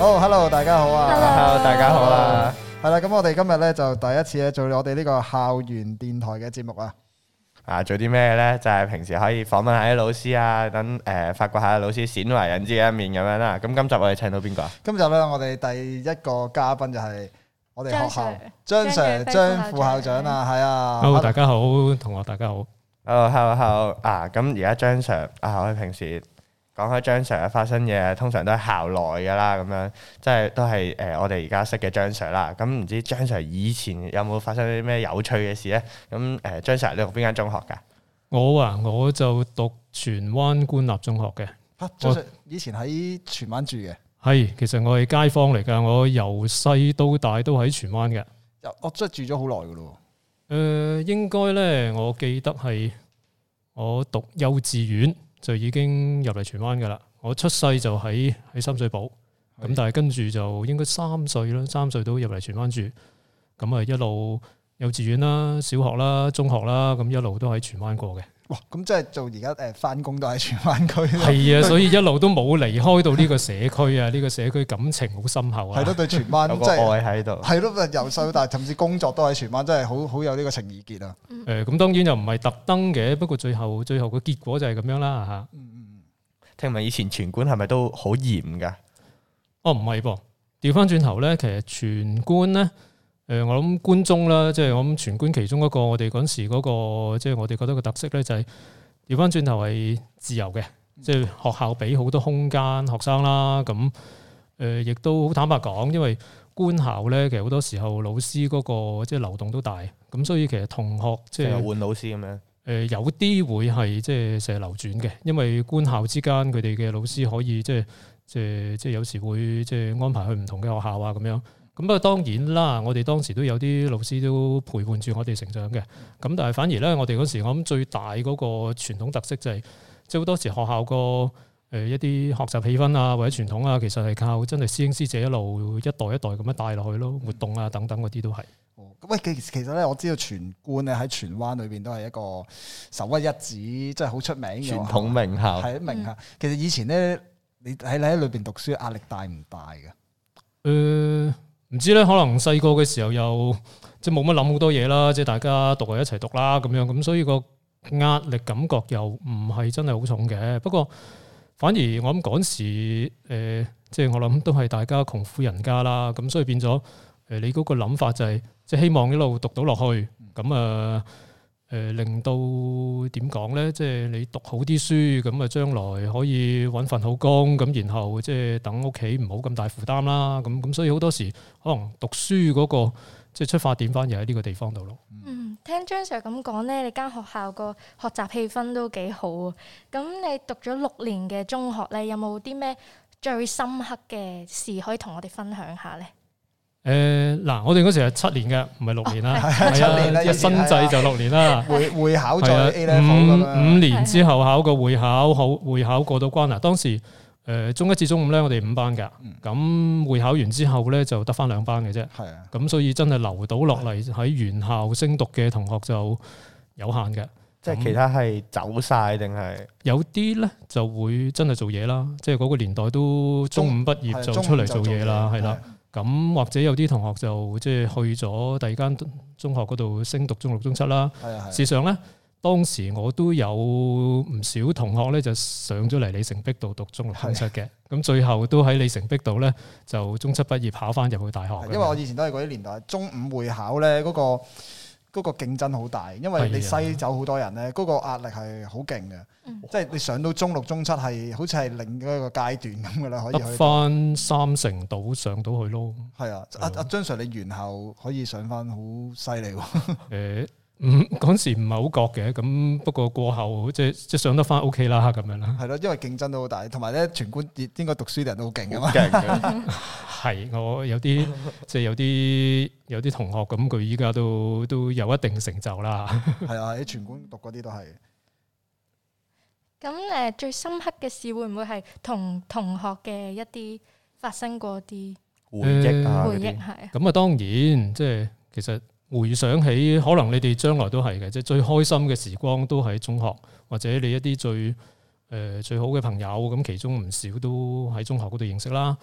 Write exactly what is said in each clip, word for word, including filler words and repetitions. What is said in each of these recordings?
好 ，Hello， 大家好啊 ，Hello， 大家好啊。 係啦，咁我哋今日咧就第一次咧做我哋呢個校園電台嘅節目啊。 啊，做啲咩咧？就係、是、平時可以訪問下啲老師啊，等誒、呃、發掘下老師鮮為人知嘅一面咁樣啦。咁今集我哋請到邊個啊？ 今集咧我哋第一個嘉賓就係我哋學校張 Sir 張副校長啊，係啊。 Hello，大家好，同學大家好。 Hello，Hello，Hello 啊！咁而家張 Sir 啊，我哋平時講開張 Sir 發生嘢，通常都係校內噶啦，咁樣即係都係誒、呃、我哋而家識嘅張 Sir 啦。咁唔知張 Sir 以前有冇發生啲咩有趣嘅事咧？咁誒、呃、張 Sir 你讀邊間中學㗎？ 我啊，我就讀荃灣官立中學嘅。 嚇、啊，張 Sir 以前喺荃灣住嘅。 係，其實我係街坊嚟㗎。我由細到大都喺荃灣嘅。 我即係住咗好耐㗎咯。 誒、呃，應該咧，我記得係我讀幼稚園就已經入嚟荃灣㗎啦。我出世就喺喺深水埗，咁的但係跟住就應該三歲啦，三歲都入嚟荃灣住。咁啊一路幼稚園啦、小學啦、中學啦，咁一路都喺荃灣過嘅。 哇！咁即係做而家誒返工都喺荃灣區。 係啊，所以一路都冇離開到呢個社區啊！呢個社區感情好深厚啊。係咯，對荃灣有個愛喺度。係咯，由細到大，甚至工作都喺荃灣，真係好好有呢個情意結啊。 誒、嗯，咁當然又唔係特登嘅，不過最後最後個結果就係咁樣啦嚇。 嗯嗯。 聽聞以前荃官係咪都好嚴㗎？ 哦，唔係噃，調翻轉頭咧，其實荃官咧。誒，我諗官中啦，即係我諗荃官其中一個，我哋嗰時嗰個，即係我哋覺得個特色咧，就係調翻轉頭係自由嘅，即係學校俾好多空間學生啦。咁誒，亦都好坦白講，因為官校咧，其實好多時候老師嗰個即係流動都大，咁所以其實同學即係換老師咁樣。 誒，有啲會係即係成日流轉嘅，因為官校之間佢哋嘅老師可以即係即係即係有時會即係安排去唔同嘅學校啊咁樣。咁不過當然啦，我哋當時都有啲老師都陪伴住我哋成長嘅。咁但係反而咧，我哋嗰時我諗最大嗰個傳統特色就係，即係好多時學校個誒一啲學習氣氛啊，或者傳統啊，其實係靠真係師兄師姐一路一代一代咁樣帶落去咯，活動啊等等嗰啲都係。 哦，喂，其其實咧，我知道荃官咧喺荃灣裏邊都係一個首屈一指，即係好出名嘅傳統名校。 係名校。其實以前咧，你喺你喺裏邊讀書壓力大唔大嘅？誒、 呃。唔知咧，可能細個嘅時候又即係冇乜諗好多嘢啦，即係大家讀就一齊讀啦咁樣，咁所以個壓力感覺又唔係真係好重嘅。不過反而我諗嗰時誒，即係我諗都係大家窮苦人家啦，咁所以變咗誒，你嗰個諗法就係即係希望一路讀到落去，咁啊誒令到點講咧，即係你讀好啲書，咁啊將來可以揾份好工，咁然後即係等屋企唔好咁大負擔啦。咁咁所以好多時可能讀書嗰個即係出發點反而喺呢個地方度咯。 嗯，聽張 Sir 咁講咧，你間學校個學習氣氛都幾好啊。咁你讀咗六年嘅中學咧，有冇啲咩最深刻嘅事可以同我哋分享下咧？ 誒嗱、呃，我哋嗰時係七年嘅，唔係六年啦。 係、哦、七年啦， 一新制就六年啦。 會會考再 A level 咁樣。 五五年之後考個會考，好會考過到關啦。當時誒、呃、中一至中五咧，我哋五班㗎。咁、嗯、會考完之後咧，就得返兩班嘅啫。係啊。咁所以真係留到落嚟喺原校升讀嘅同學就有限嘅。 即係其他係走晒定係？有啲咧就會真係做嘢啦。即係嗰個年代都中五畢業就出嚟做嘢啦，係啦。咁或者有啲同學就即係去咗第二間中學嗰度升讀中六、中七啦。事實上咧，當時我都有唔少同學咧就上咗嚟里城壁度讀中六、中七嘅。咁的最後都喺里城壁度咧就中七畢業考翻入去大學。因為我以前都係嗰啲年代，中五會考咧嗰個。嗰個競爭好大，因為你篩走好多人咧，嗰、嗰個壓力係好勁嘅，嗯、即係你上到中六、中七係好似係另一個階段咁嘅啦，可以去得翻三成度上到去咯。係啊，阿阿張 Sir 你原校可以上翻好犀利喎。 誒，嗯，嗰時唔係好覺嘅，咁不過過後即係即係上得翻 OK 啦，咁樣啦。係咯，因為競爭都好大，同埋咧全官應該讀書啲人都好勁嘅嘛。 係，我有啲即係有啲有啲同學咁，佢依家都都有一定成就啦。 係啊，喺全官讀嗰啲都係。 咁誒，最深刻嘅事會唔會係同同學嘅一啲發生過啲回憶啊？ 回憶係。 咁啊，當然即係其實回想起，可能你哋將來都係嘅，即係最開心嘅時光都喺中學，或者你一啲最誒最好嘅朋友，咁其中唔少都喺中學嗰度認識啦。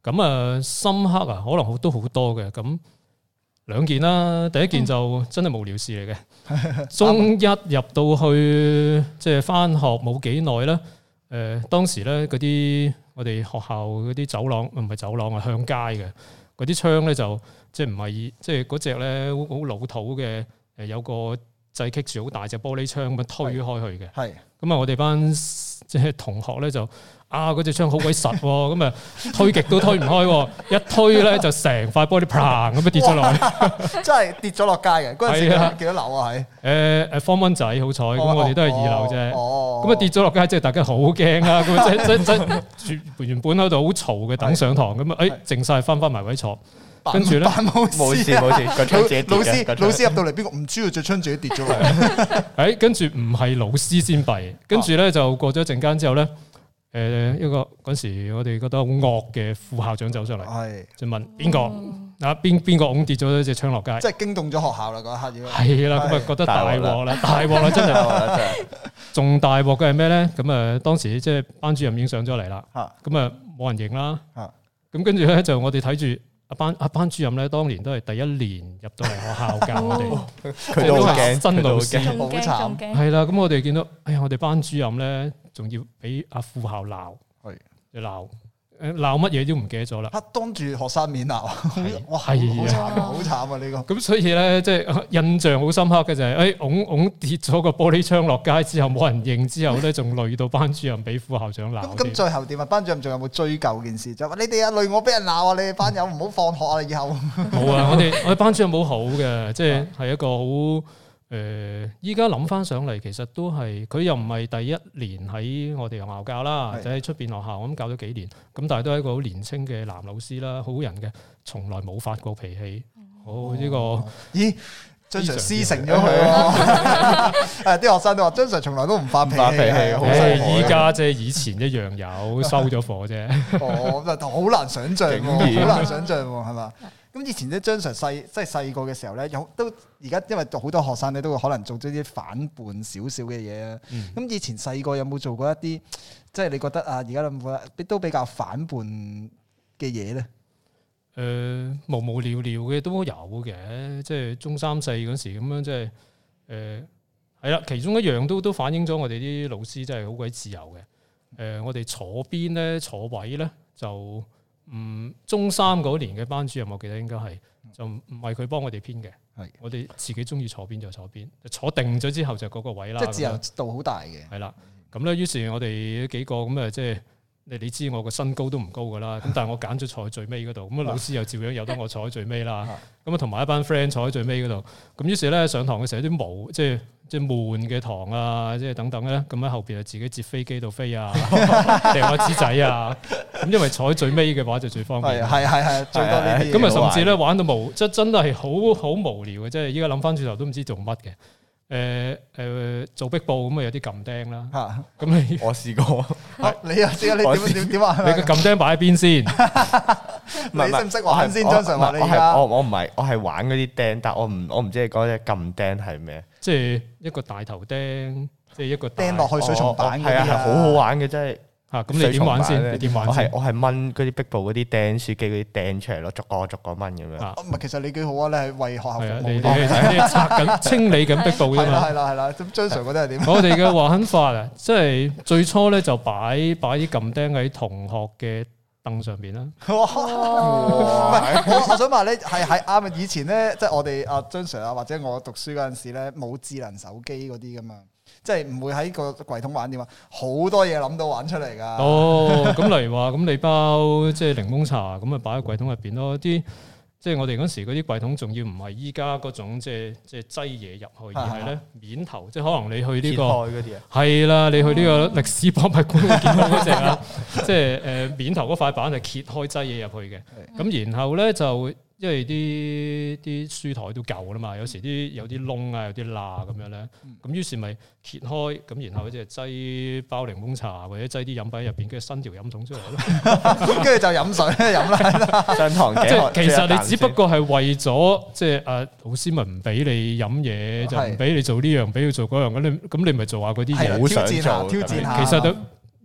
咁啊深刻啊，可能都好多嘅。咁兩件啦，第一件就真係無聊事嚟嘅。嗯、中一入到去即係翻學冇幾耐咧，誒、呃、當時咧嗰啲我哋學校嗰啲走廊唔係走廊啊，向街嘅嗰啲窗咧就即係唔係即係嗰隻咧好老土嘅誒，有個掣棘住好大隻玻璃窗咁樣推開去嘅。係咁啊，我哋班即係同學咧就。啊！嗰隻窗好鬼實喎，咁啊推極都推唔開，一推咧就成塊玻璃砰咁樣跌咗落去， 真係跌咗落街嘅。嗰陣時幾多樓啊？係誒誒方蚊仔好彩，咁我哋都係二樓啫。咁啊跌咗落街，即係大家好驚啦。咁即即即原本喺度好嘈嘅等上堂，咁啊誒靜曬翻翻埋位坐，跟住咧冇事冇事，老師老師入到嚟，邊個唔知道隻窗自己跌咗落嚟？ 誒跟住唔係老師先弊，跟住咧就過咗一陣間之後咧。誒一個嗰時我哋覺得好惡嘅副校長走上嚟，係就問邊個啊？邊邊個㧬跌咗隻窗落街？ 即係驚動咗學校啦！嗰一刻已經係啦，咁啊覺得大鑊啦，大鑊啦，真係仲大鑊嘅係咩咧？咁啊當時即係班主任已經上咗嚟啦，咁啊冇人認啦，咁跟住咧就我哋睇住阿班阿班主任咧，當年都係第一年入到嚟學校教我哋， 佢都好驚， 新老師好慘， 係啦。咁我哋見到，哎呀，我哋班主任咧。仲要俾阿副校鬧，係鬧誒鬧乜嘢都唔記得咗啦。 當住學生面鬧，哇係啊，好慘啊呢個。 咁所以咧，即係印象好深刻嘅就係，誒拱拱跌咗個玻璃窗落街之後冇人認，之後咧仲累到班主任俾副校長鬧。 咁最後點啊？班主任仲有冇追究件事？就話你哋啊累我俾人鬧啊！你哋班友唔好放學啊！以後冇啊！我哋我哋班主任好好嘅，即係係一個好。誒，依家諗翻上嚟，其實都係佢又唔係第一年喺我哋學校教啦，或者喺出邊學校咁教咗幾年，咁但係都係一個好年輕嘅男老師啦，好人嘅，從來冇發過脾氣。好呢個， 咦，張 Sir 師承咗佢喎。誒，啲學生都話張 Sir 從來都唔發脾氣， 誒，依家即係以前一樣有收咗課啫。 哦，咁就好難想像喎，好難想像喎，係嘛？咁以前咧，張 Sir 細即係細個嘅時候咧，有都而家因為好多學生咧都會可能做咗啲反叛少少嘅嘢啊。咁、嗯、以前細個有冇做過一啲即係你覺得啊，而家諗覺得都比較反叛嘅嘢咧？誒、 呃，無無聊聊嘅都有嘅，即係中三四嗰時咁樣，即係誒係啦。其中一樣都都反映咗我哋啲老師真係好鬼自由嘅。誒、呃，我哋坐邊咧，坐位咧就。嗯，中三嗰年嘅班主任，我記得應該係就唔係佢幫我哋編嘅，係我哋自己中意坐邊就坐邊，坐定咗之後就嗰個位啦。 即係自由度好大嘅。係啦， 咁咧，於是我哋幾個咁啊，即係你你知我個身高都唔高噶啦，咁但係我揀咗坐喺最尾嗰度，咁啊老師又照樣由得我坐喺最尾啦。咁啊同埋一班 friend 坐喺最尾嗰度，咁於是咧上堂嘅時候啲無即係。即係悶嘅堂啊，即係等等咧，咁喺後邊啊自己折飛機度飛啊，掟下紙仔啊，咁因為坐喺最尾嘅話就最方便。 係係係最多呢啲。 咁啊，甚至咧玩到無，即係真係好好無聊嘅，即係依家諗翻轉頭都唔知做乜嘅。誒誒，做壁報咁啊，有啲撳釘啦。嚇，咁你我試過。 你又知啊？你點點點啊？ 你個撳釘擺喺邊先？ 你識唔識玩先？張 Sir 話你而家。 我我唔係，我係玩嗰啲釘，但我唔我唔知你講嘅撳釘係咩？ 即係一個大頭釘，即係一個釘落去水松板嗰啲啊， 係好好玩嘅，真係。 嚇，咁你點玩先？你點玩先？ 我係我係掹嗰啲壁布嗰啲釘書機嗰啲釘出嚟咯，逐個逐個掹咁樣。 唔係，其實你幾好啊！你係為學校服務。 你你拆緊清理緊壁布啫嘛。 係啦係啦，咁張 Sir 覺得係點？ 我哋嘅玩法啊，即係最初咧就擺擺啲撳釘喺同學嘅凳上邊啦。哇！ 唔係，我我想話咧，係係啱啊！以前咧，即係我哋阿張 Sir 啊，或者我讀書嗰陣時咧，冇智能手機嗰啲噶嘛。即係唔會喺個櫃桶玩點啊，好多嘢諗到玩出嚟噶。哦， 咁例如話，咁你包即係檸檬茶，咁啊擺喺櫃桶入邊咯。啲即係我哋嗰時嗰啲櫃桶，仲要唔係依家嗰種即係即係擠嘢入去，而係咧面頭，即係可能你去呢個係啦，你去呢個歷史博物館會見到嗰隻啊，即係誒面頭嗰塊板係揭開擠嘢入去嘅。咁然後咧就。因為啲啲書台都舊啦嘛，有時啲有啲窿啊，有啲罅咁樣咧，咁於是咪揭開，咁然後即係擠包檸檬茶或者擠啲飲品入邊，跟住伸條飲筒出嚟咯， 跟住就飲水飲啦。 上堂即係其實你只不過係為咗即係誒老師咪唔俾你飲嘢，就唔俾你做呢樣，俾你做嗰樣，咁你咁你咪做下嗰啲嘢， 挑戰下，挑戰下。 其實都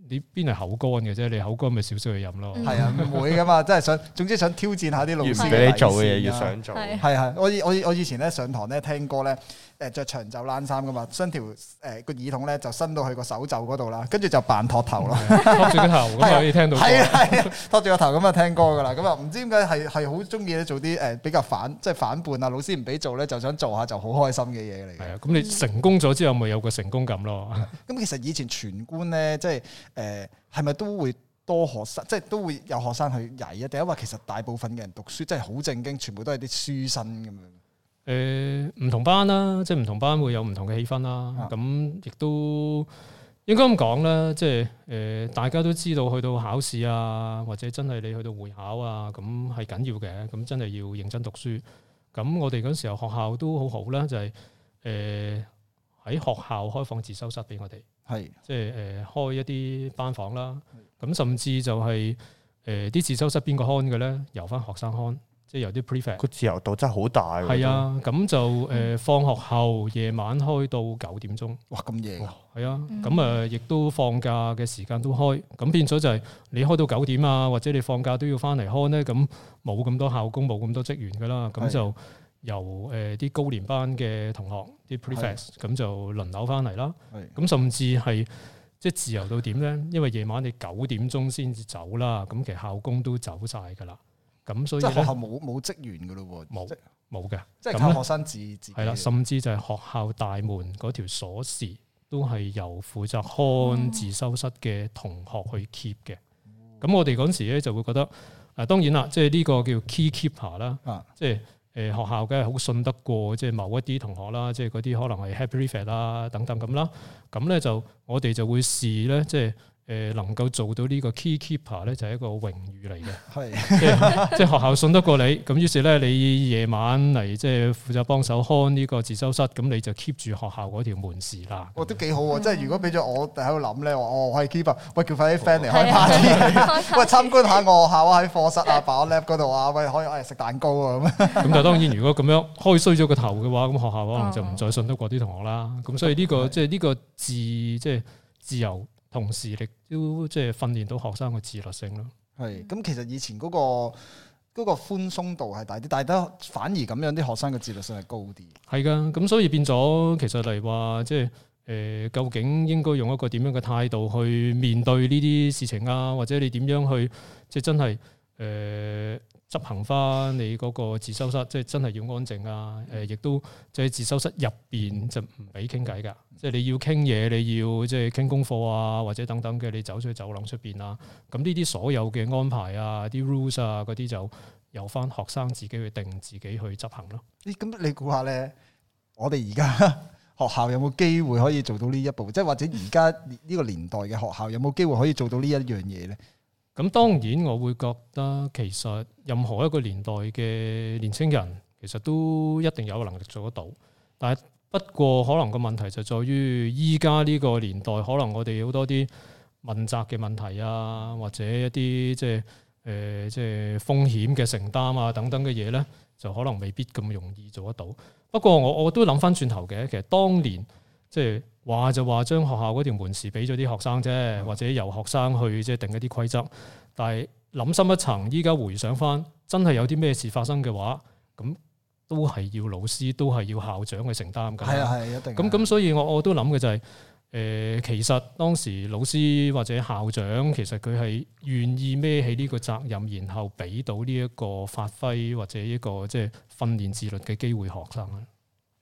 你邊係口乾嘅啫？你口乾咪少少去飲咯。 係啊，唔會噶嘛，真係想，總之想挑戰下啲老師越俾你做嘅嘢越想做。 係係，我我我以前咧上堂咧聽歌咧，誒著長袖冷衫噶嘛，伸條誒個耳筒咧就伸到去個手袖嗰度啦，跟住就扮托頭咯， 托住個頭咁可以聽到。係啊係啊， 托住個頭咁啊聽歌噶啦，咁啊唔知點解係係好中意咧做啲誒比較反即係反叛啊，老師唔俾做咧就想做下就好開心嘅嘢嚟嘅。係啊， 咁你成功咗之後咪有個成功感咯。 咁其實以前全官咧即係誒係咪都會多學生，即係都會有學生去曳啊？定係話其實大部分嘅人讀書真係好正經，全部都係啲書生咁樣。 誒唔同班啦，即係唔同班會有唔同嘅氣氛啦。咁亦都應該咁講啦，即係誒大家都知道去到考試啊，或者真係你去到會考啊，咁係緊要嘅。咁真係要認真讀書。咁我哋嗰時候學校都好好啦，就係誒喺學校開放自修室俾我哋。係，即係誒開一啲班房啦，咁甚至就係誒啲自修室邊個看嘅咧，由翻學生看，即係由啲 prefect。個自由度真係好大。係啊，咁就誒放學後夜晚開到九點鐘。哇，咁夜啊！係啊，咁啊亦都放假嘅時間都開，咁變咗就係你開到九點啊，或者你放假都要翻嚟看咧，咁冇咁多校工，冇咁多職員噶啦，咁就由誒啲高年班嘅同學啲 prefects 咁就輪流翻嚟啦。咁甚至係即係自由到點咧？因為夜晚你九點鐘先至走啦，咁其實校工都走晒噶啦。咁所以即係學校冇冇職員噶咯喎，冇冇嘅，即係靠學生自自己。係啦，甚至就係學校大門嗰條鎖匙都係由負責看自修室嘅同學去 keep 嘅。咁、嗯、我哋嗰時咧就會覺得，誒當然啦，即係呢個叫 key keeper 啦、啊，即係。誒學校梗係好信得過，即係某一啲同學啦，即係嗰啲可能係 head prefect 啦等等咁啦。咁咧就我哋就會視咧，即係誒能夠做到呢個 key keeper 咧，就係一個榮譽嚟嘅。係即係即係學校信得過你，咁於是咧你夜晚嚟即係負責幫手看呢個自修室，咁你就 keep 住學校嗰條門匙啦。哦，都幾好喎！即係如果俾咗我喺度諗咧，話哦我係 keeper，喂叫快啲 friend 嚟開 party，喂參觀下我學校啊，喺課室啊、把 lab 嗰度啊，喂可以誒食蛋糕啊咁。咁但係當然如果咁樣開衰咗個頭嘅話，咁學校可能就唔再信得過啲同學啦。咁所以呢個即係呢個自即係自由。同時亦都即係訓練到學生嘅自律性咯。係，咁其實以前嗰、嗰個嗰、嗰個寬鬆度係大啲，但係都反而咁樣啲學生嘅自律性係高啲。係㗎，咁所以變咗其實嚟話即係誒、呃，究竟應該用一個點樣嘅態度去面對呢啲事情啊？或者你點樣去即係真係誒？呃執行翻你嗰個自修室，即係真係要安靜啊！誒，亦都即係自修室入邊就唔俾傾偈㗎。即係你要傾嘢，你要即係傾功課啊，或者等等嘅，你走出去走廊出邊啊。咁呢啲所有嘅安排啊、啲 rules 啊嗰啲，就由翻學生自己去定，自己去執行咯。咦？咁你估下咧？我哋而家學校有冇機會可以做到呢一步？即係或者而家呢個年代嘅學校有冇機會可以做到呢一樣嘢咧？咁當然，我會覺得其實任何一個年代嘅年青人，其實都一定有能力做得到。但係不過可能個問題就在於，依家呢個年代，可能我哋好多啲問責嘅問題啊，或者一啲即係誒即係風險嘅承擔啊等等嘅嘢咧，就可能未必咁容易做得到。不過我我都諗翻轉頭嘅，其實當年即係。話就話將學校嗰條門匙俾咗啲學生啫，或者由學生去即係定一啲規則。但係諗深一層，依家回想翻，真係有啲咩事發生嘅話，咁都係要老師，都係要校長去承擔㗎。係啊係一定。咁咁，所以我我都諗嘅就係、是，誒、呃，其實當時老師或者校長，其實佢係願意孭起呢個責任，然後俾到呢一個發揮或者一個即係訓練自律嘅機會學生啦。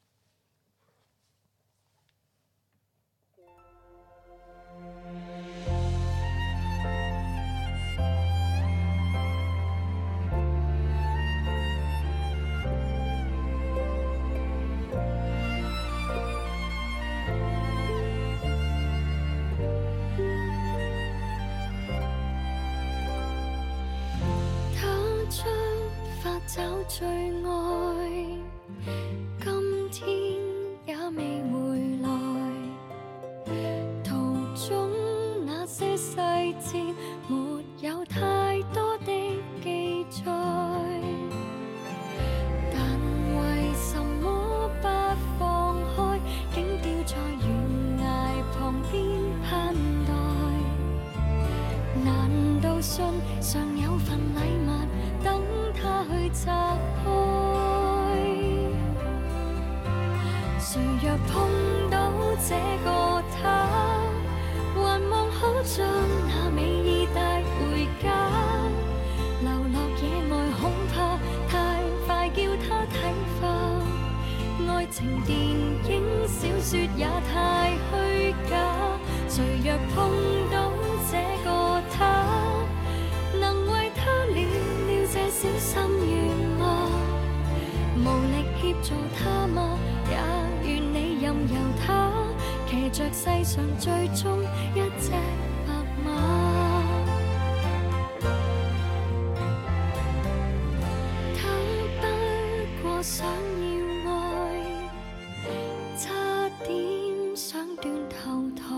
找最愛，今天也未回來。途中那些細節，沒有太多的記載。但為什麼不放開，竟掉在懸崖旁邊盼待？ 會拆開。誰若碰到這個他，還望可將那美意帶回家。流落野外恐怕太快叫他睇化，愛情電影小說也太虛假。誰若碰到這個他，能為他了了這小心願嗎？無力協助他嗎？也願你任由他騎着世上最終一隻白馬。他不過想要愛，差點想斷頭台。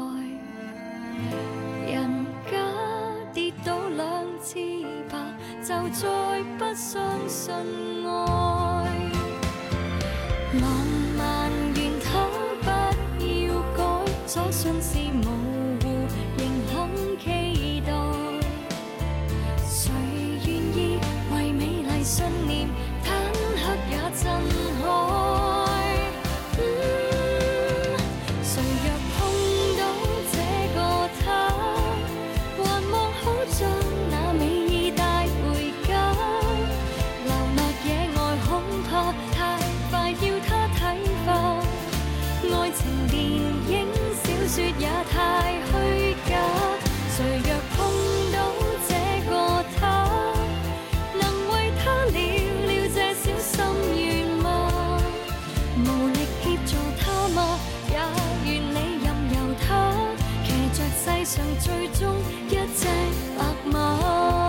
人家跌倒兩次吧，就再不相信愛。浪漫願他不要改，所信是模糊，仍肯期待。誰願意為美麗信念坦克也震撼？嗯，誰若碰到這個他，還望可將那美意帶回家。流落野外恐怕太快要他睇化，愛情電影小說也太虛假。誰若碰到這個他，能為他了了這小心願嗎？無力協助他嗎？也願你任由他騎着世上最終一隻白馬。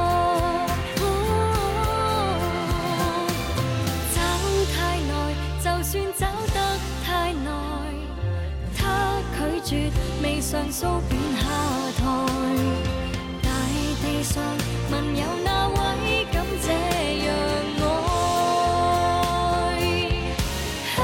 就算找得太耐，他拒絕未上訴便下台。大地上問有哪位敢這樣愛？啊，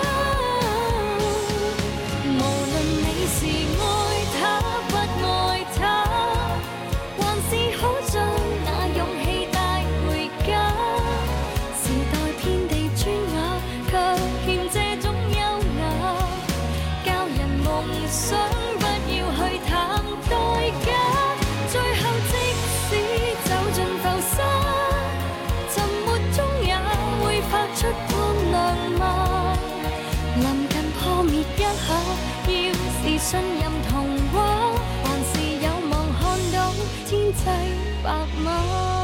無論你是愛他不愛他，還是可將那勇氣帶回家。時代遍地磚瓦，卻欠這種優雅，教人夢想不要去談代價。最後即使走進浮沙，沉沒中也會發出光亮嗎？臨近破滅一下，要是信任童話，還是有望看到天際白馬。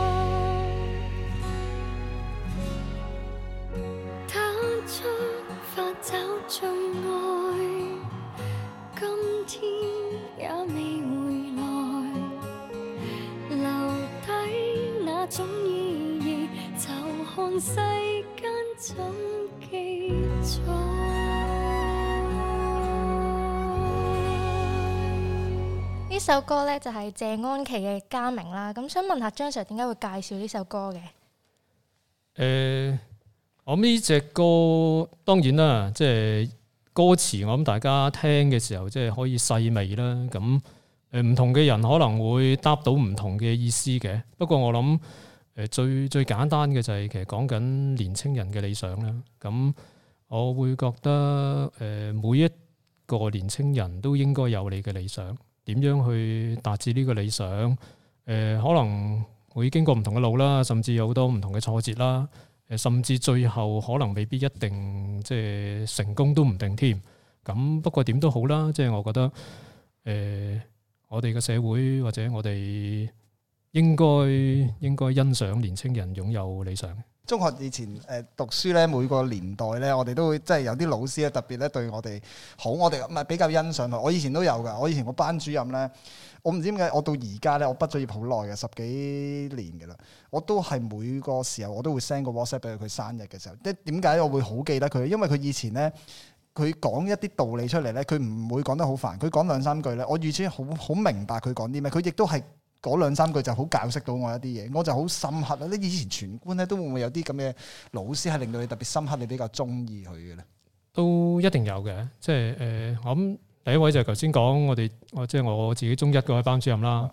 出發找最愛，今天也未回來，留低那種意義，就看世間怎記載。 呢首歌呢，就係謝安琪嘅《家明》啦，咁想問下張 Sir 點解會介紹呢首歌嘅？ 誒、呃。我諗呢隻歌當然啦，即係歌詞，我諗大家聽嘅時候即係可以細味啦。咁誒唔同嘅人可能會答到唔同嘅意思嘅。不過我諗誒最最簡單嘅就係其實講緊年青人嘅理想啦。咁我會覺得誒每一個年青人都應該有你嘅理想，點樣去達至呢個理想？誒可能會經過唔同嘅路啦，甚至有好多唔同嘅挫折啦。甚至最後可能未必一定即係成功都唔定添。咁不過點都好啦，即係我覺得誒、呃，我哋嘅社會或者我哋應該應該欣賞年青人擁有理想。 中學以前誒讀書咧，每個年代咧，我哋都會即係有啲老師咧特別咧對我哋好，我哋唔係比較欣賞佢。我以前都有㗎，我以前個班主任咧。我唔知點解，我到而家咧，我畢咗業好耐嘅，十幾年嘅啦，我都係每個時候我都會 send 個 WhatsApp 俾佢，佢生日嘅時候。即係點解我會好記得佢？因為佢以前咧，佢講一啲道理出嚟咧，佢唔會講得好煩，佢講兩三句咧，我預先好好明白佢講啲咩，佢亦都係嗰兩三句就好教識到我一啲嘢，我就好深刻啦。你以前全官咧都會唔會有啲咁嘅老師係令到你特別深刻，你比較中意佢嘅咧？ 都一定有嘅，即係誒、呃，我諗第一位就係頭先講我哋，我即係我自己中一嗰位班主任啦。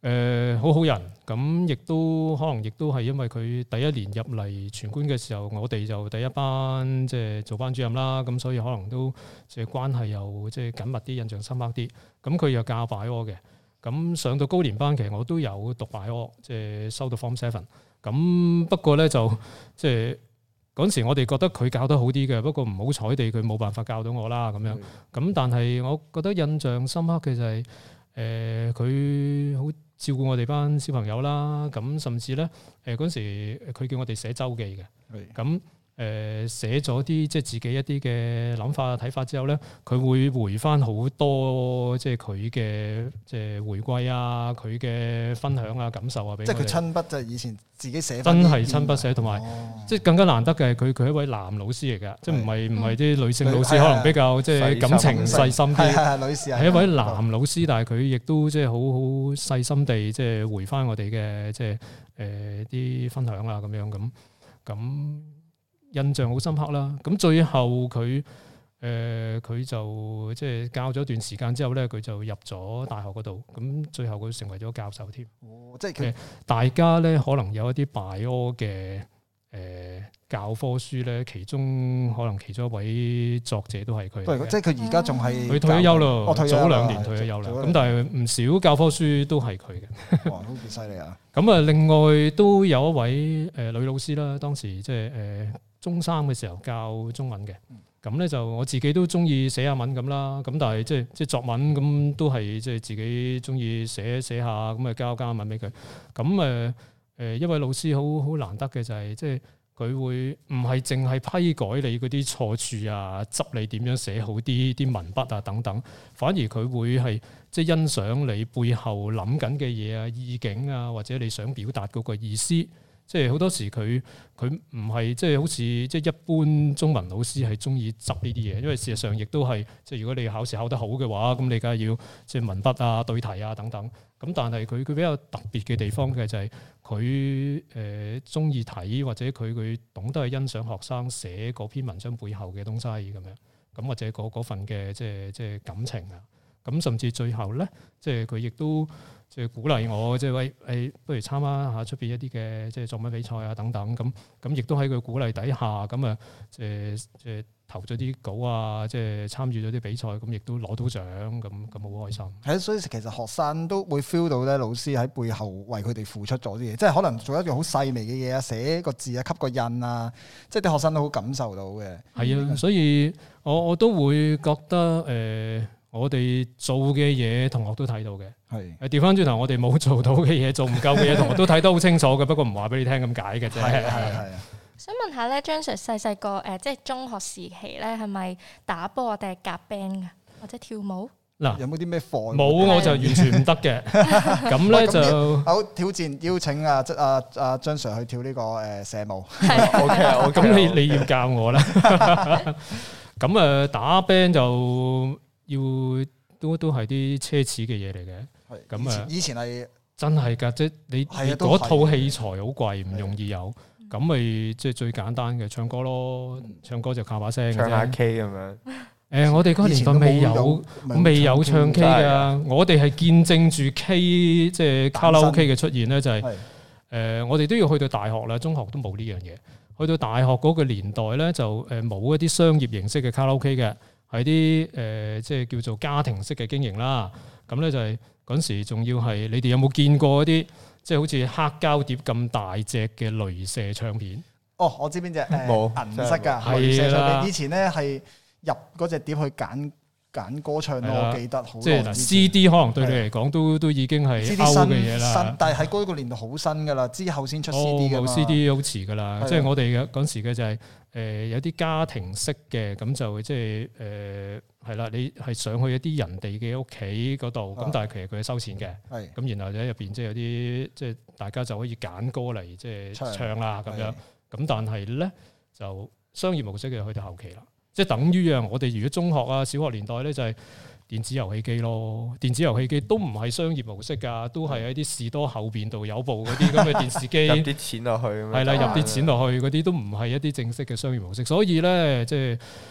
誒好好人，咁亦都可能亦都係因為佢第一年入嚟全官嘅時候，我哋就第一班即係做班主任啦，咁所以可能都即係關係又即係緊密啲，印象深刻啲。咁佢又教擺柯嘅，咁上到高年班其實我都有讀擺柯，即係收到 Form Seven。咁不過咧就即係嗰陣時我哋覺得佢教得好啲嘅，不過唔好彩地佢冇辦法教到我啦咁樣。咁但係我覺得印象深刻嘅就係誒佢好照顧我哋班小朋友啦，咁甚至咧誒嗰陣時佢叫我哋寫週記嘅，咁誒寫咗啲即係自己一啲嘅諗法睇法之後咧，佢會回翻好多即係佢嘅即係回歸啊，佢嘅分享啊感受啊俾我哋。即係佢親筆就係以前自己寫，真係親筆寫，同埋、哦、即係更加難得嘅係佢佢係一位男老師嚟㗎，即係唔係唔係啲女性老師可能比較即係感情細心啲，係女士係一位男老師，但係佢亦都即係好好細心地即係回翻我哋嘅即係誒啲分享啊咁樣咁咁。印象好深刻啦，咁最後佢誒佢就即係教咗一段時間之後咧，佢就入咗大學嗰度，咁最後佢成為咗教授添。哦，即係佢大家咧可能有一啲拜柯嘅誒教科書咧，其中可能其中一位作者都係佢。即係佢而家仲係佢退咗休咯，早兩年退咗休啦。咁但係唔少教科書都係佢嘅。哇，好幾犀利啊！咁啊，另外都有一位誒女老師啦，當時即係誒。中三嘅時候教中文嘅，咁咧就我自己都中意寫下文咁啦，咁但係即係即係作文咁都係即係自己中意寫寫下，咁啊交交文俾佢。咁誒誒一位老師好好難得嘅就係即係佢會唔係淨係批改你嗰啲錯處啊，執你點樣寫好啲啲文筆啊等等，反而佢會係即係欣賞你背後諗緊嘅嘢啊、意境啊，或者你想表達嗰個意思。即係好多時佢佢唔係即係好似即係一般中文老師係中意執呢啲嘢，因為事實上亦都係即係如果你考試考得好嘅話，咁你梗係要即係文筆啊、對題啊等等。咁但係佢佢比較特別嘅地方嘅就係佢誒中意睇或者佢佢懂得去欣賞學生寫嗰篇文章背後嘅東西咁樣，咁或者嗰嗰份嘅即係即係感情啊。咁甚至最後咧，即係佢亦都即係鼓勵我，即係喂誒，不如參加下出邊一啲嘅即係作文比賽啊等等。咁咁亦都喺佢鼓勵底下，咁啊即係即係投咗啲稿啊，即係參與咗啲比賽，咁亦都攞到獎，咁咁好開心。係啊，所以其實學生都會 feel 到咧，老師喺背後為佢哋付出咗啲嘢，即係可能做一樣好細微嘅嘢啊，寫個字啊，吸個印啊，即係啲學生都好感受到嘅。係啊，所以我我都會覺得誒。呃我哋做嘅嘢，同學都睇到嘅。係誒，調翻轉頭，我哋冇做到嘅嘢，做唔夠嘅嘢，同學都睇得好清楚嘅。不過唔話俾你聽咁解嘅啫。係係係。想問下咧，張 Sir 細細個誒，即係中學時期咧，係咪打波定係夾 band 㗎，或者跳舞？嗱，有冇啲咩課？冇，我就完全唔得嘅。咁咧就好挑戰，邀請阿即阿阿張 Sir 去跳呢個誒社舞。係 OK，咁你你要教我啦。咁誒打 band 就。要都都係啲奢侈嘅嘢嚟嘅，咁啊以前係真係㗎，即係你嗰套器材好貴，唔容易有，咁咪即係最簡單嘅唱歌咯，唱歌就靠把聲，唱下 K 咁樣。誒，我哋嗰個年代未有未有唱 K 㗎，我哋係見證住 K 即係卡拉 OK 嘅出現咧，就係誒，我哋都要去到大學啦，中學都冇呢樣嘢。去到大學嗰個年代咧，就誒冇一啲商業形式嘅卡拉 OK 嘅。係啲誒，即係叫做家庭式嘅經營啦。咁咧就係嗰陣時，仲要係你哋有冇見過一啲即係好似黑膠碟咁大隻嘅雷射唱片？哦，我知邊隻冇銀色㗎雷射唱片。以前咧係入嗰隻碟去揀揀歌唱咯，我記得好。即係嗱 C D 可能對你嚟講都都已經係 out 嘅嘢啦。但係喺嗰個年代好新㗎啦，之後先出 C D 㗎嘛。C D 好遲㗎啦，即係我哋嘅嗰陣時嘅就係。誒、呃、有啲家庭式嘅，咁就即係誒係啦，你係上去一啲人哋嘅屋企嗰度，咁、啊、但係其實佢係收錢嘅，咁是然後喺入邊即係有啲即係大家就可以揀歌嚟即係唱啦咁樣，咁但係咧就商業模式嘅去到後期啦，即係等於啊，我哋如果中學啊、小學年代咧就係、是。電子遊戲機咯，電子遊戲機都唔係商業模式㗎，都係喺啲士多後邊度有部嗰啲咁嘅電視機，入啲錢落去，係啦，入啲錢落去嗰啲都唔係一啲正式嘅商業模式，所以咧即係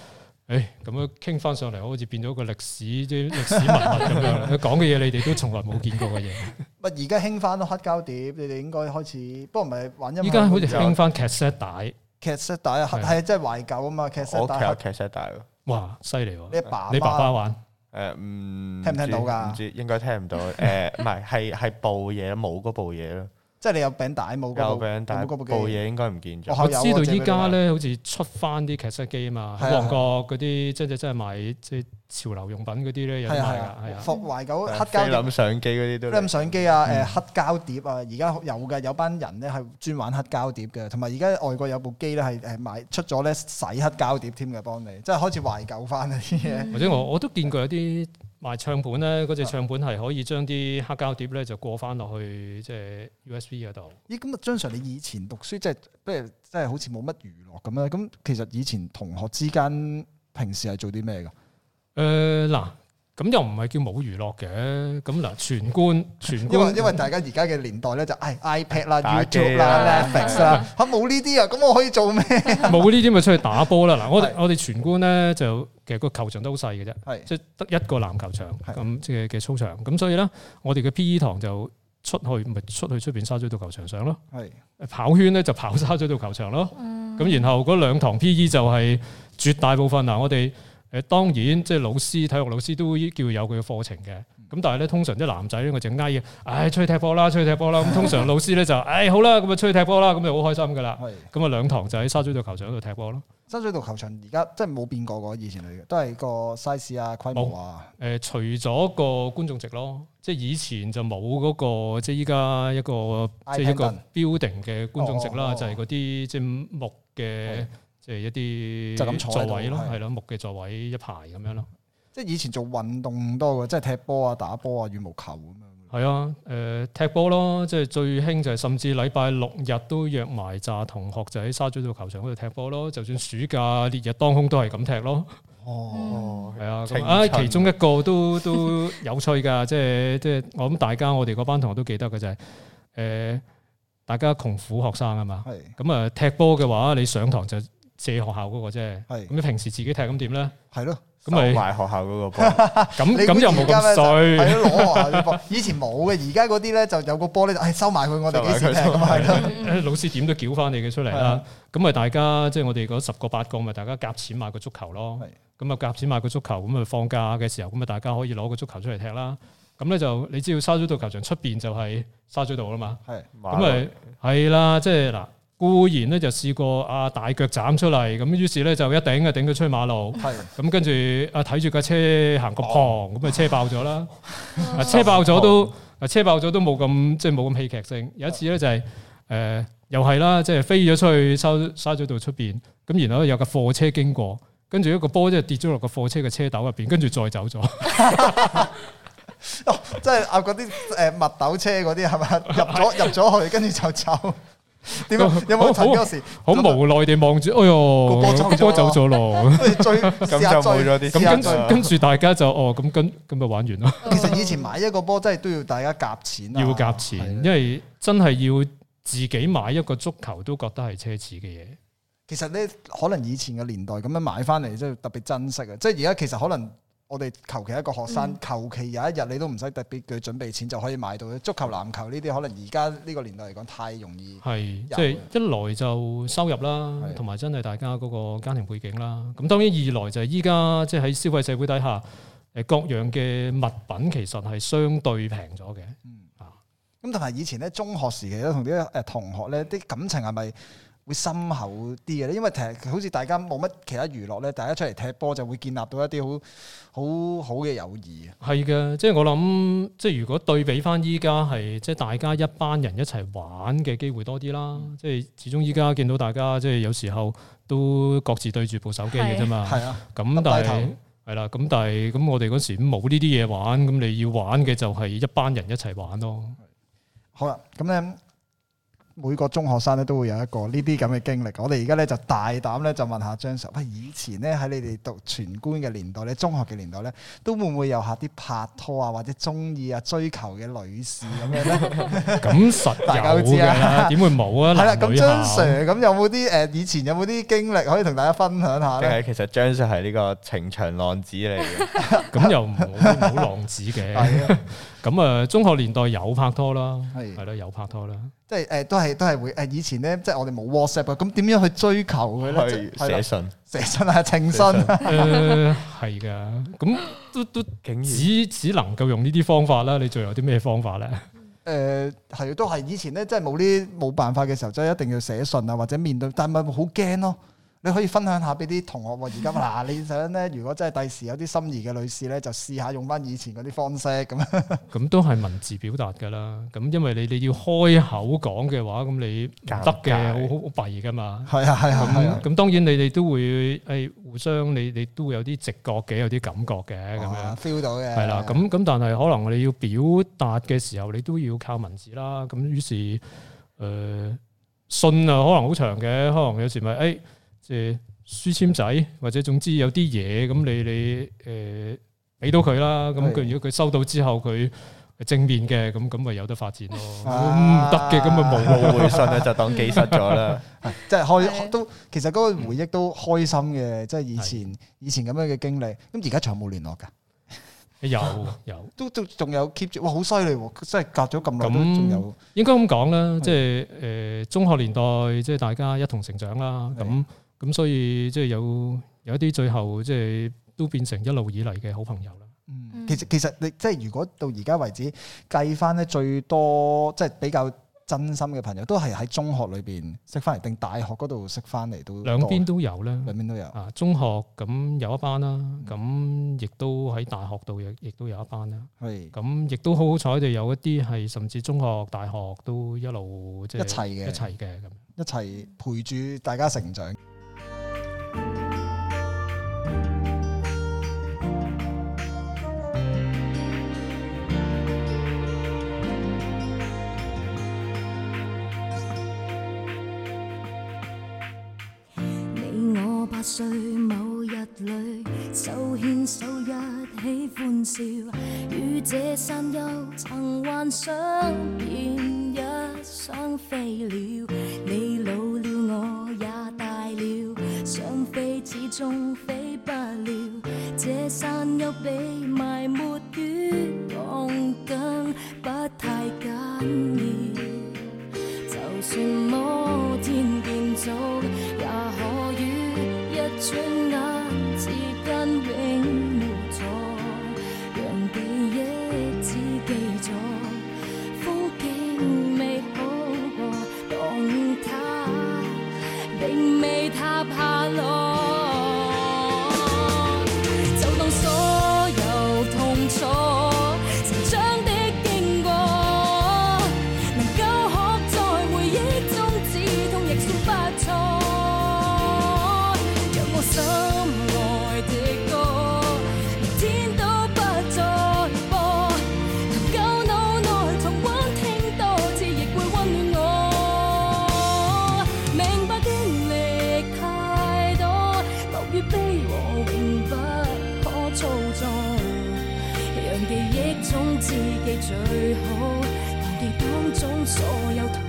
誒咁樣傾翻上嚟，好似變咗個歷史啲歷史文物咁樣。佢講嘅嘢，你哋都從來冇見過嘅嘢。 唔而家興翻黑膠碟，你哋應該開始，不過唔係玩音樂。 依家好似興翻 cassette 帶。 cassette 帶啊，係即係懷舊啊嘛 cassette 帶。 我屋企有 cassette 帶喎。 哇，犀利喎！ 你爸你爸爸玩？ 誒唔聽唔聽到㗎？ 唔知應該聽唔到。誒唔係係係部嘢冇嗰部嘢咯。即係你有餅帶冇？ 有餅帶，部嘢應該唔見咗。 我知道依家咧好似出翻啲 cassette 機啊嘛，喺旺角嗰啲即係真係賣即係潮流用品嗰啲咧有賣㗎，係啊。 懷舊黑膠菲林相機嗰啲都。 菲林相機啊，誒黑膠碟啊，而家有嘅有班人咧係專玩黑膠碟嘅，同埋而家外國有部機咧係誒買出咗咧洗黑膠碟添嘅，幫你即係開始懷舊翻啲嘢。 或者我我都見過有啲賣唱盤咧，嗰隻唱盤係可以將啲黑膠碟咧就過翻落去即係 U S B 嗰度。咦，咁啊，張 Sir 你以前讀書即係不如即係好似冇乜娛樂咁樣，咁其實以前同學之間平時係做啲咩㗎？誒嗱、 呃，咁又唔係叫冇娛樂嘅，咁嗱全官全官， 因為因為大家而家嘅年代咧就係 iPad 啦、YouTube 啦、Netflix 啦，嚇冇呢啲啊，咁我可以做咩？ 冇呢啲咪出去打波啦！嗱，我哋我哋全官咧就。其實個球場都好細嘅啫， 是即係得一個籃球場咁是嘅嘅操場，咁所以咧，我哋嘅 P E 堂就出去咪出去出邊沙咀道球場上咯，是跑圈咧就跑沙咀道球場咯，咁、嗯、然後嗰兩堂 P E 就係絕大部分嗱，我哋誒當然即係老師體育老師都叫有佢嘅課程嘅。咁但係咧，通常啲男仔咧，我就嗌嘅，唉，出去踢波啦，出去踢波啦。咁通常老師咧就，唉，好啦，咁啊出去踢波啦，咁就好開心噶啦。咁啊兩堂就喺沙咀道球場嗰度踢波咯。沙咀道球場而家即係冇變過嘅，以前嚟嘅，都係個 size 啊、規模啊。誒，除咗個觀眾席咯，即係以前就冇嗰個，即係依家一個即係一個 building 嘅觀眾席啦，就係嗰啲即係木嘅，即係一啲座位咯，係咯，木嘅座位一排咁樣咯。即係以前做運動多嘅，即係踢波啊、打波啊、羽毛球咁樣。係啊，誒踢波咯，即係最興就係甚至禮拜六日都約埋紮同學就喺沙咀道球場嗰度踢波咯。就算暑假烈日當空都係咁踢咯。哦，係啊，咁啊其中一個都都有趣㗎，即係即係我諗大家我哋嗰班同學都記得嘅就係誒，大家窮苦學生啊嘛。係。咁啊踢波嘅話，你上堂就借學校嗰個啫。係。咁你平時自己踢咁點咧？係咯。咁咪買學校嗰個波，咁咁又冇咁衰，係咯，攞學校啲波。以前冇嘅，而家嗰啲咧就有個波咧，就係收埋佢，我哋幾時踢咁係咯。老師點都繳翻你嘅出嚟啦。咁咪大家即係我哋嗰十個八個，咪大家夾錢買個足球咯。咁啊夾錢買個足球，咁啊放假嘅時候，咁啊大家可以攞個足球出嚟踢啦。咁咧就你知道沙咀道球場出邊就係沙咀道啦嘛。係，咁咪係啦，即係嗱。固然咧就試過啊大腳斬出嚟，咁於是咧就一頂啊頂到出馬路，咁跟住啊睇住架車行個旁，咁啊車爆咗啦，啊車爆咗都啊車爆咗都冇咁即係冇咁戲劇性。有一次咧就係、是、誒、呃、又係啦，即係飛咗出去沙沙咀道出邊，咁然後有架貨車經過，跟住一個波即係跌咗落個貨車嘅車斗入邊，跟住再走咗。哦，即係啊嗰啲誒蜜豆車嗰啲係咪入咗入咗去，跟住就走。點啊？有冇嗰時好無奈地望住？哎呦，個波走咗咯，追咁就冇咗啲。咁跟跟住大家就哦，咁跟咁就玩完咯。其實以前買一個波真係都要大家夾錢，要夾錢，因為真係要自己買一個足球都覺得係奢侈嘅嘢。其實咧，可能以前嘅年代咁樣買翻嚟，即係特別珍惜啊！即係而家其實可能。我哋求其一個學生，求其、嗯、有一日你都唔使特別佢準備錢就可以買到足球、籃球呢啲，可能而家呢個年代嚟講太容易。係，即係一來就收入啦，同埋真係大家嗰個家庭背景啦。咁當然二來就係依家即係喺消費社會底下，誒各樣嘅物品其實係相對平咗嘅。嗯啊，咁同埋以前咧中學時期咧同啲誒同學咧啲感情係咪會深厚啲嘅咧？因為其實好似大家冇乜其他娛樂咧，大家出嚟踢波就會建立到一啲好好好嘅友誼。係嘅，即係我諗，即係如果對比翻依家係即係大家一班人一齊玩嘅機會多啲啦。嗯、即係始終依家見到大家即係有時候都各自對住部手機嘅啫嘛。係啊，咁但係係啦，咁但係咁我哋嗰時冇呢啲嘢玩，咁你要玩嘅就係一班人一齊玩咯。好啦，咁咧。 每個中學生咧都會有一個呢啲咁嘅經歷。我哋而家咧就大膽咧就問下張 Sir，喂，以前咧喺你哋讀全觀嘅年代咧，中學嘅年代咧，都會唔會有下啲拍拖啊，或者中意啊、追求嘅女士咁樣咧？ 咁實大家都知啊，點會冇啊？ 係啦，咁張 Sir 咁有冇啲誒以前有冇啲經歷可以同大家分享下咧？ 其實張 Sir 係呢個情場浪子嚟嘅， 咁又唔好浪子嘅。咁啊，中學年代有拍拖啦，係係咯，有拍拖啦。 即係誒，都係都係會誒。以前咧，即係我哋冇 WhatsApp 啊，咁點樣去追求佢咧？ 寫信， 寫信啊，情信。 誒係㗎，咁都都只只能夠用呢啲方法啦。你仲有啲咩方法咧？ 誒係都係以前咧，即係冇呢冇辦法嘅時候，即係一定要寫信啊，或者面對，但係咪好驚咯？你可以分享下俾啲同學喎。而家嗱，你想咧，如果真係第時有啲心儀嘅女士咧，就試下用翻以前嗰啲方式咁樣。咁都係文字表達㗎啦。咁因為你你要開口講嘅話，咁你唔得嘅，好好弊㗎嘛。係啊係啊係啊。咁當然你哋都會誒互相，你你都會有啲直覺嘅，有啲感覺嘅咁樣 feel 到嘅。係啦。咁咁但係可能你要表達嘅時候，你都要靠文字啦。咁於是誒、呃、信啊，可能好長嘅，可能有時咪誒。哎即係書籤仔，或者總之有啲嘢咁，你你誒俾到佢啦。咁佢如果佢收到之後，佢正面嘅，咁咁咪有得發展咯。唔得嘅，咁咪冇冇回信咧，就當記失咗啦。 即係開都，其實嗰個回憶都開心嘅，即係以前以前咁樣嘅經歷。咁而家仲有冇聯絡㗎？ 有有， 都都仲有 keep 住，哇！好犀利喎，即係隔咗咁耐都仲有。 應該咁講啦，即係誒中學年代，即係大家一同成長啦。咁咁所以即係有有一啲最後即係都變成一路以嚟嘅好朋友啦。 嗯，其實其實你即係如果到而家為止計翻咧，最多即係比較真心嘅朋友，都係喺中學裏邊識翻嚟，定大學嗰度識翻嚟都兩邊都有啦。 兩邊都有啊，中學咁有一班啦，咁亦都喺大學度亦亦都有一班啦。係咁，亦都好好彩地有一啲係甚至中學、大學都一路即係一齊嘅，一齊嘅咁， 一齊陪住大家成長。 八歲某日裏，手牽手一起歡笑，與這山丘曾幻想變一雙飛鳥。你老了，我也大了，想飛始終飛不了。這山丘比埋沒於鋼筋不太緊要，就算摩天建築也可與一轉眼之間永無錯，讓記憶只記咗風景美好過，當它並未塌下來，就當所有痛楚成長的經過，能夠學在回憶中止痛亦算不錯。心愛的歌，連天都不再播，求舊腦內重溫聽多次，亦會溫暖我。明白經歷太多，樂與悲和永不可操縱，讓記憶中知己最好，忘記當中所有痛。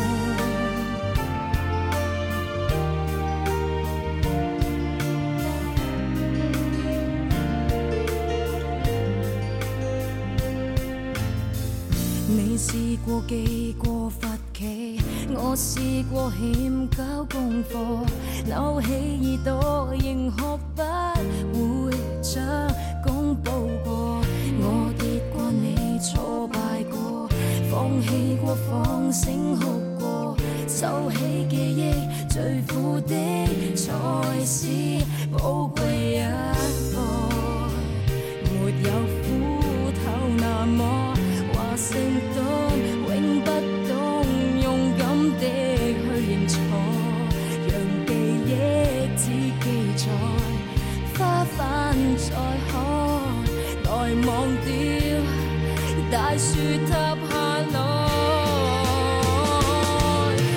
你試過記過罰企，我試過欠交功課，扭起耳朵仍學不會將功補過。我跌過，你挫敗過，放棄過，放聲哭過，收起記憶最苦的才是寶貴一課，沒有苦頭那麼成功永不懂勇敢的去認錯，讓記憶只記載花瓣再開，來忘掉大樹塌下來。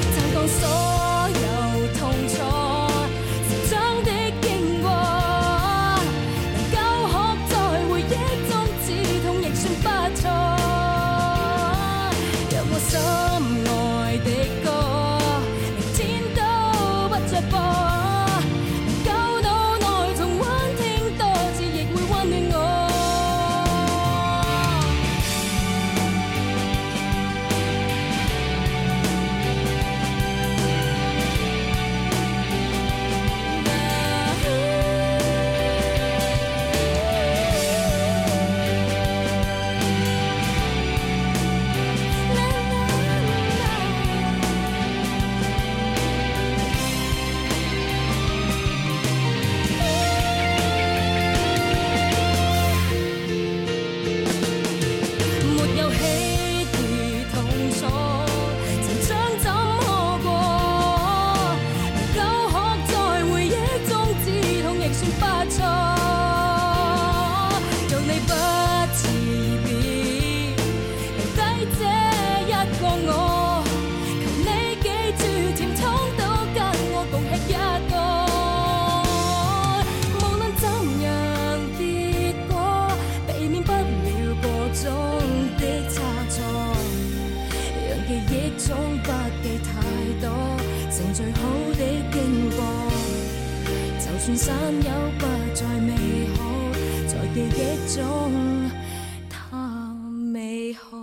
算散友不再美好，在記憶中太美好。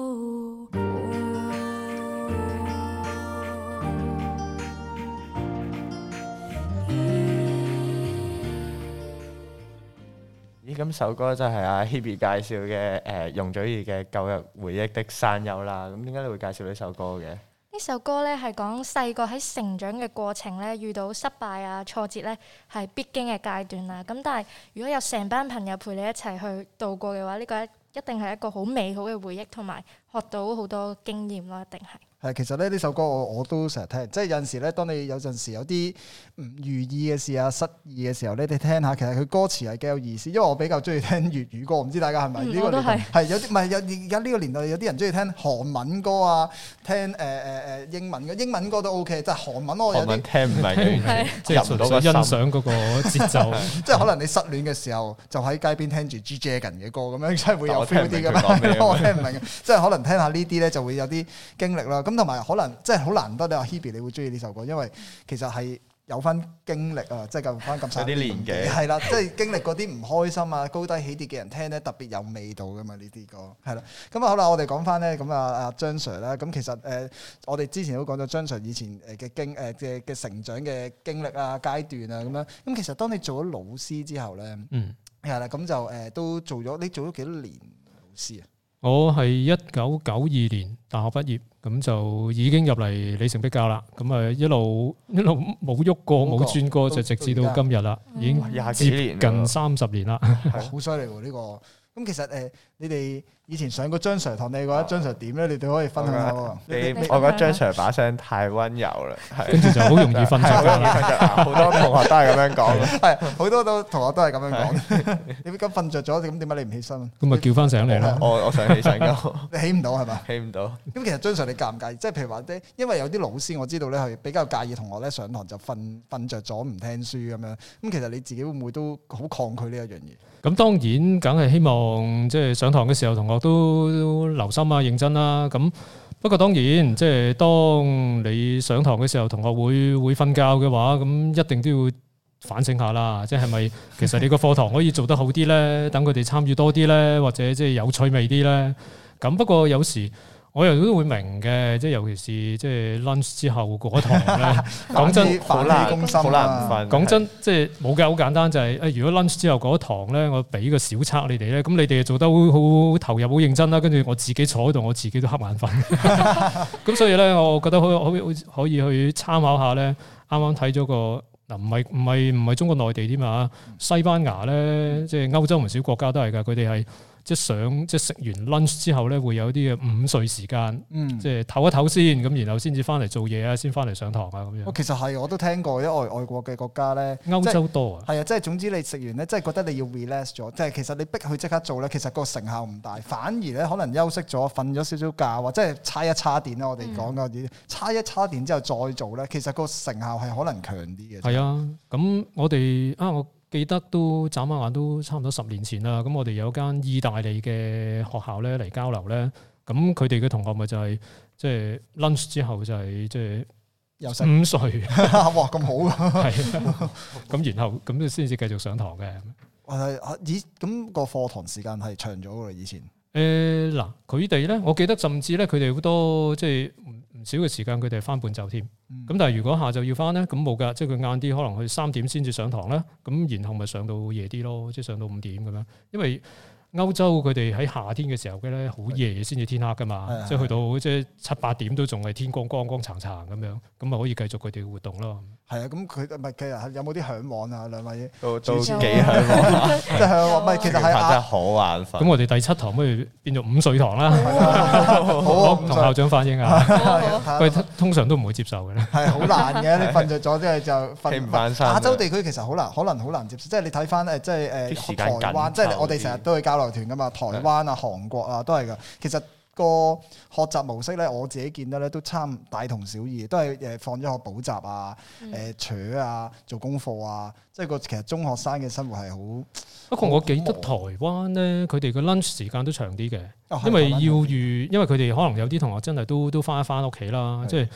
咦，咁首歌就係阿 Hebe 介紹嘅誒容祖兒嘅《舊日回憶的山丘》啦。咁點解你會介紹呢首歌嘅？ 呢首歌咧係講細個喺成長嘅過程咧，遇到失敗啊、挫折咧係必經嘅階段啦。咁但係如果有成班朋友陪你一齊去度過嘅話，呢個一一定係一個好美好嘅回憶，同埋學到好多經驗咯，一定係。 係，其實咧呢首歌我我都成日聽，即係有陣時咧，當你有陣時有啲唔如意嘅事啊、失意嘅時候咧，你聽下，其實佢歌詞係幾有意思。因為我比較中意聽粵語歌，唔知大家係咪呢個年代？係有啲唔係有而家呢個年代有啲人中意聽韓文歌啊，聽誒誒誒英文嘅英文歌都 OK，即係韓文我有啲聽唔明， 即係入唔到個欣賞嗰個節奏。 即係可能你失戀嘅時候，就喺街邊聽住 G Dragon 嘅歌咁樣，真係會有 feel 啲㗎嘛。我聽唔明嘅，即係可能聽下呢啲咧，就會有啲經歷啦。咁同埋可能即係好難得你話 Hebe 你會中意呢首歌，因為其實係有翻經歷啊，即係夠翻咁細啲年紀，係啦，即係經歷嗰啲唔開心啊、高低起跌嘅人聽咧，特別有味道噶嘛呢啲歌，係啦。咁啊好啦，我哋講翻咧，咁啊阿張 Sir 啦，咁其實誒、呃、我哋之前都講咗張 Sir 以前誒嘅經誒嘅嘅成長嘅經歷啊、階段啊咁樣。咁其實當你做咗老師之後咧，嗯，係啦，咁就誒、呃、都做咗，你做咗幾多年老師啊？ 我係一九九二年大學畢業，咁就已經入嚟里程碑教啦。咁啊一路一路冇喐過，冇轉過，就直至到今日啦，已經接近三十年啦。 好犀利喎呢個！咁其實誒，你哋以前上過張 Sir 堂，你覺得張 Sir 點咧？你哋可以分享下喎。 我覺得張 Sir 把聲太溫柔啦， 跟住就好容易瞓着。 好多同學都係咁樣講， 係好多都同學都係咁樣講。你咁瞓着咗，咁點解你唔起身？ 咁咪叫翻醒你啦。 我我想起身㗎， 你起唔到係嘛？ 起唔到。 咁其實張 Sir 你介唔介意？即係譬如話咧，因為有啲老師我知道咧係比較介意同學咧上堂就瞓瞓著咗唔聽書咁樣。咁其實你自己會唔會都好抗拒呢一樣嘢？ 咁當然，梗係希望即係上堂嘅時候，同學都留心啊、認真啦。咁不過當然，即係當你上堂嘅時候，同學會會瞓覺嘅話，咁一定都要反省下啦。即係咪其實你個課堂可以做得好啲咧？等佢哋參與多啲咧，或者即係有趣味啲咧。咁不過有時我又都會明嘅，即係尤其是即係 lunch 之後嗰堂咧，講真好難好難瞓。 講真，即係冇嘅，好簡單就係誒，如果 lunch 之後嗰堂咧，我俾個小測你哋咧，咁你哋做得好好投入、好認真啦，跟住我自己坐喺度，我自己都瞌眼瞓。咁所以咧，我覺得可可可以去參考下咧。啱啱睇咗個嗱，唔係唔係唔係中國內地添啊，西班牙咧，即係歐洲唔少國家都係㗎，佢哋係。即係上即係食完 lunch 之後咧，會有啲嘅午睡時間，嗯、即係唞一唞先，咁然後先至翻嚟做嘢啊，先翻嚟上堂啊咁樣。 其實係我都聽過，因為外外國嘅國家咧， 歐洲多啊。 係啊，即係總之你食完咧，即係覺得你要 relax 咗，即係其實你逼佢即刻做咧，其實個成效唔大，反而咧可能休息咗、瞓咗少少覺，或者係叉一叉電啦，我哋講嗰啲叉一叉電之後再做咧，其實個成效係可能強啲嘅。係啊， 咁我哋啊我。記得都眨下眼都差唔多十年前啦，咁我哋有間意大利嘅學校咧嚟交流咧，咁佢哋嘅同學咪就係即係 lunch 之後就係即係午睡， 哇咁好啊！ 係啊，咁然後咁先至繼續上堂嘅。 係以咁個課堂時間係長咗㗎啦，以前。 誒嗱，佢哋咧，我記得甚至咧，佢哋好多即係唔少嘅時間，佢哋係翻半晝添。咁、嗯、但係如果下晝要翻咧，咁冇㗎，即係佢晏啲，可能去三點先至上堂咧。咁然後咪上到夜啲咯，即係上到五點咁樣。因為歐洲佢哋喺夏天嘅時候嘅咧，好夜先至天黑噶嘛，的即係去到即係七八點都仲係天光光光燦燦咁樣，咁咪可以繼續佢哋嘅活動咯。係啊，咁佢唔係其實有冇啲嚮往啊？兩位都都幾嚮往， 即係嚮往。唔係其實係真係好眼瞓。 咁我哋第七堂不如變做午睡堂啦。好，同校長反映啊。佢通常都唔會接受嘅咧。係好難嘅，你瞓着咗即係就瞓唔翻身。 亞洲地區其實好難，可能好難接受。即係你睇翻誒，即係誒台灣，即係我哋成日都去交流團噶嘛，台灣啊、韓國啊都係噶。其實個學習模式咧，我自己見得咧都差唔大同小異，都係誒放咗學補習啊、誒扯啊、做功課啊，即係個其實中學生嘅生活係好。 不過我記得台灣咧，佢哋嘅 lunch 時間都長啲嘅，因為要預，因為佢哋可能有啲同學真係都都翻一翻屋企啦，即係。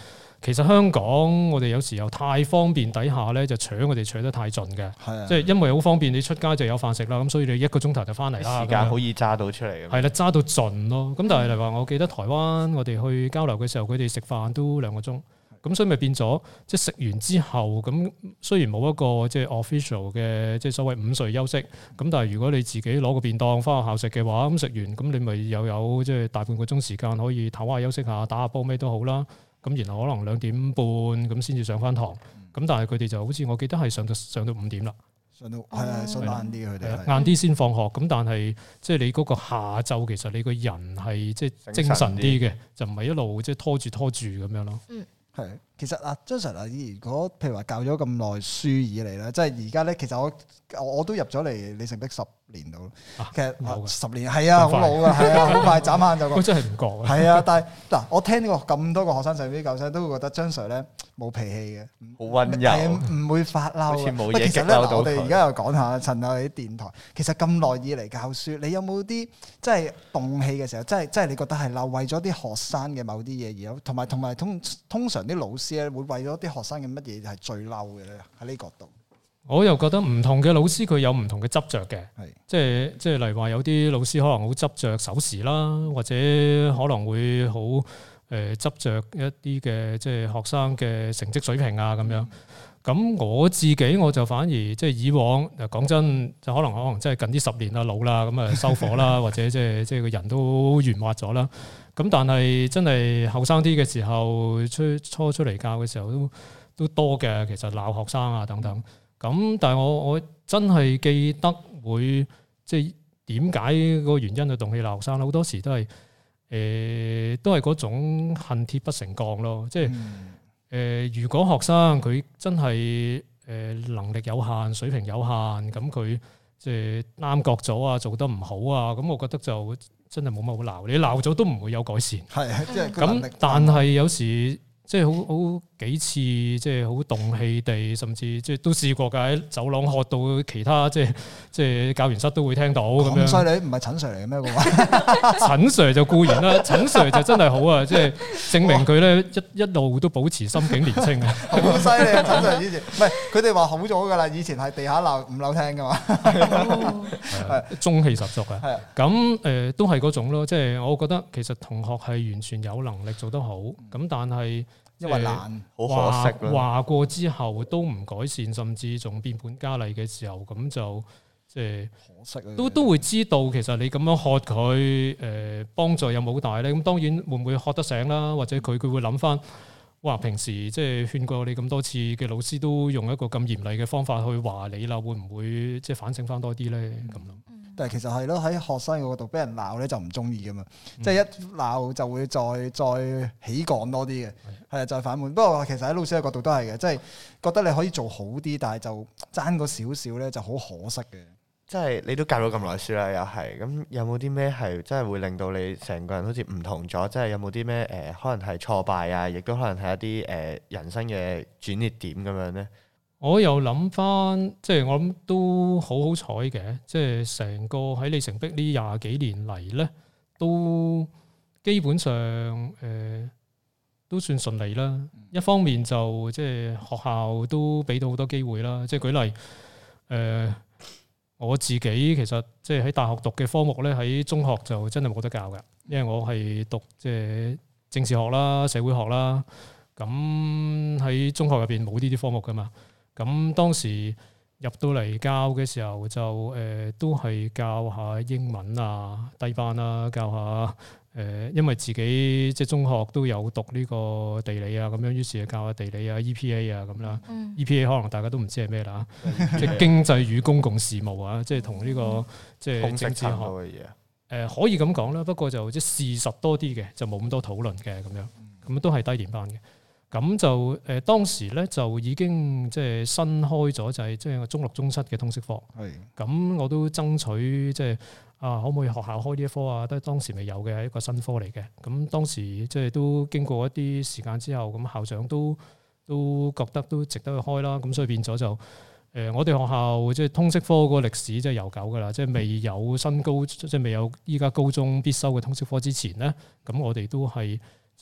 其實香港我哋有時候太方便底下咧，就搶我哋搶得太盡嘅，即係因為好方便，你出街就有飯食啦，咁所以你一個鐘頭就翻嚟啦， 時間好易揸到出嚟嘅。 係啦，揸到盡咯。咁但係例如話，我記得台灣我哋去交流嘅時候，佢哋食飯都兩個鐘，咁所以咪變咗即係食完之後，咁雖然冇一個即係 official 嘅即係所謂午睡休息，咁但係如果你自己攞個便當翻學校食嘅話，咁食完咁你咪又有即係大半個鐘時間可以唞下休息下，打下波咩都好啦。咁然後可能兩點半咁先至上翻堂，咁但係佢哋就好似我記得係上到上到五點啦， 上到係啊，上晏啲佢哋晏啲先放學，咁但係即係你嗰個下晝其實你個人係即係精神啲嘅，就唔係一路即係拖住拖住咁樣咯。嗯， 係其實啊，張 Sir 啊，如果譬如話教咗咁耐書以嚟咧，即係而家咧，其實我我都入咗嚟里程碑十年度，其實十年係啊，好老噶，係啊，好快眨眼就過。 真係唔覺係啊，但係嗱，我聽過咁多個學生上邊教生都會覺得張 Sir 咧冇脾氣嘅， 好溫柔， 唔會發嬲。 好似冇嘢激嬲到佢。 我哋而家又講下趁下啲電台，其實咁耐以嚟教書，你有冇啲即係動氣嘅時候，即係即係你覺得係嬲，為咗啲學生嘅某啲嘢而有，同埋同埋通通常啲老師咧會為咗啲學生嘅乜嘢係最嬲嘅咧？喺呢角度。 我又覺得唔同嘅老師佢有唔同嘅執着嘅，即係即係例如話有啲老師可能好執着守時啦，或者可能會好誒執着一啲嘅即係學生嘅成績水平啊咁樣。咁我自己我就反而即係以往講真，就可能可能即係近啲十年啦老啦，咁啊收火啦，或者即係即係個人都圓滑咗啦。咁但係真係後生啲嘅時候，出初出嚟教嘅時候都都多嘅，其實鬧學生啊等等。咁但係我我真係記得會即係點解個原因去動氣鬧學生咧？好多時都係誒、呃、都係嗰種恨鐵不成鋼咯。即係誒、呃、如果學生佢真係誒能力有限、水平有限，咁佢即係啱覺咗啊，做得唔好啊，咁我覺得就真係冇乜好鬧。你鬧咗都唔會有改善。 係即係咁，但係有時。即係好好幾次，即係好動氣地，甚至即係都試過㗎，喺走廊喝到其他即係即係教員室都會聽到咁樣。咁犀利， 唔係陳 Sir 嚟嘅咩？個陳 Sir 就固然啦，陳 Sir 就真係好啊，即係證明佢咧一一路都保持心境年輕啊！ 好犀利啊！陳 Sir 以前唔係佢哋話好咗㗎啦，以前係地下鬧五樓聽㗎嘛， 係中氣十足啊！係咁誒，都係嗰種咯，即係我覺得其實同學係完全有能力做得好，咁但係。 因為難， 好可惜咯。 話過之後都唔改善，甚至仲變本加厲嘅時候，咁就即係可惜啊！都都會知道其實你咁樣喝佢，誒幫助有冇大咧？咁當然會唔會喝得醒啦？或者佢佢會諗翻，哇！平時即係勸過你咁多次嘅老師都用一個咁嚴厲嘅方法去話你啦，會唔會即係反省翻多啲咧？咁咯。 但係其實係咯，喺學生嘅角度俾人鬧咧就唔中意噶嘛，嗯、即係一鬧就會再再起槓多啲嘅，係啊，再反叛。不過其實喺老師嘅角度都係嘅，即係覺得你可以做好啲，但係就爭個少少咧就好可惜嘅。 即係你都教咗咁耐書啦，又係咁有冇啲咩係真係會令到你成個人好似唔同咗？即係有冇啲咩誒可能係挫敗啊，亦都可能係一啲誒人生嘅轉捩點咁樣咧？ 我又諗翻，即係我諗都好好彩嘅，即係成個喺里程碑呢廿幾年嚟咧，都基本上誒、呃、都算順利啦。一方面就即係學校都俾到好多機會啦，即係舉例誒、呃，我自己其實即係喺大學讀嘅科目咧，喺中學就真係冇得教㗎，因為我係讀即係政治學啦、社會學啦，咁喺中學入邊冇呢啲科目㗎嘛。咁當時入到嚟教嘅時候就誒、呃、都係教下英文啊低班啦，教下誒、呃，因為自己即係中學都有讀呢個地理啊咁樣，於是就教下地理啊 E P A 啊咁啦。嗯、E P A 可能大家都唔知係咩啦，即係經濟與公共事務啊，即係同呢個、嗯、即係政治學嘅嘢。誒、呃、可以咁講啦，不過就即係事實多啲嘅，就冇咁多討論嘅咁樣，咁都係低年班嘅。咁就誒、呃、當時咧就已經即係新開咗，就係即係中六中七嘅通識課。係咁的，我都爭取即係啊，可唔可以學校開呢一科啊？都係當時未有嘅一個新科嚟嘅。咁當時即係都經過一啲時間之後，咁校長都都覺得都值得去開啦。咁所以變咗就誒、呃，我哋學校即係通識科嗰個歷史即係悠久噶啦，即係未有新高，即係未有依家高中必修嘅通識科之前咧，咁我哋都係。即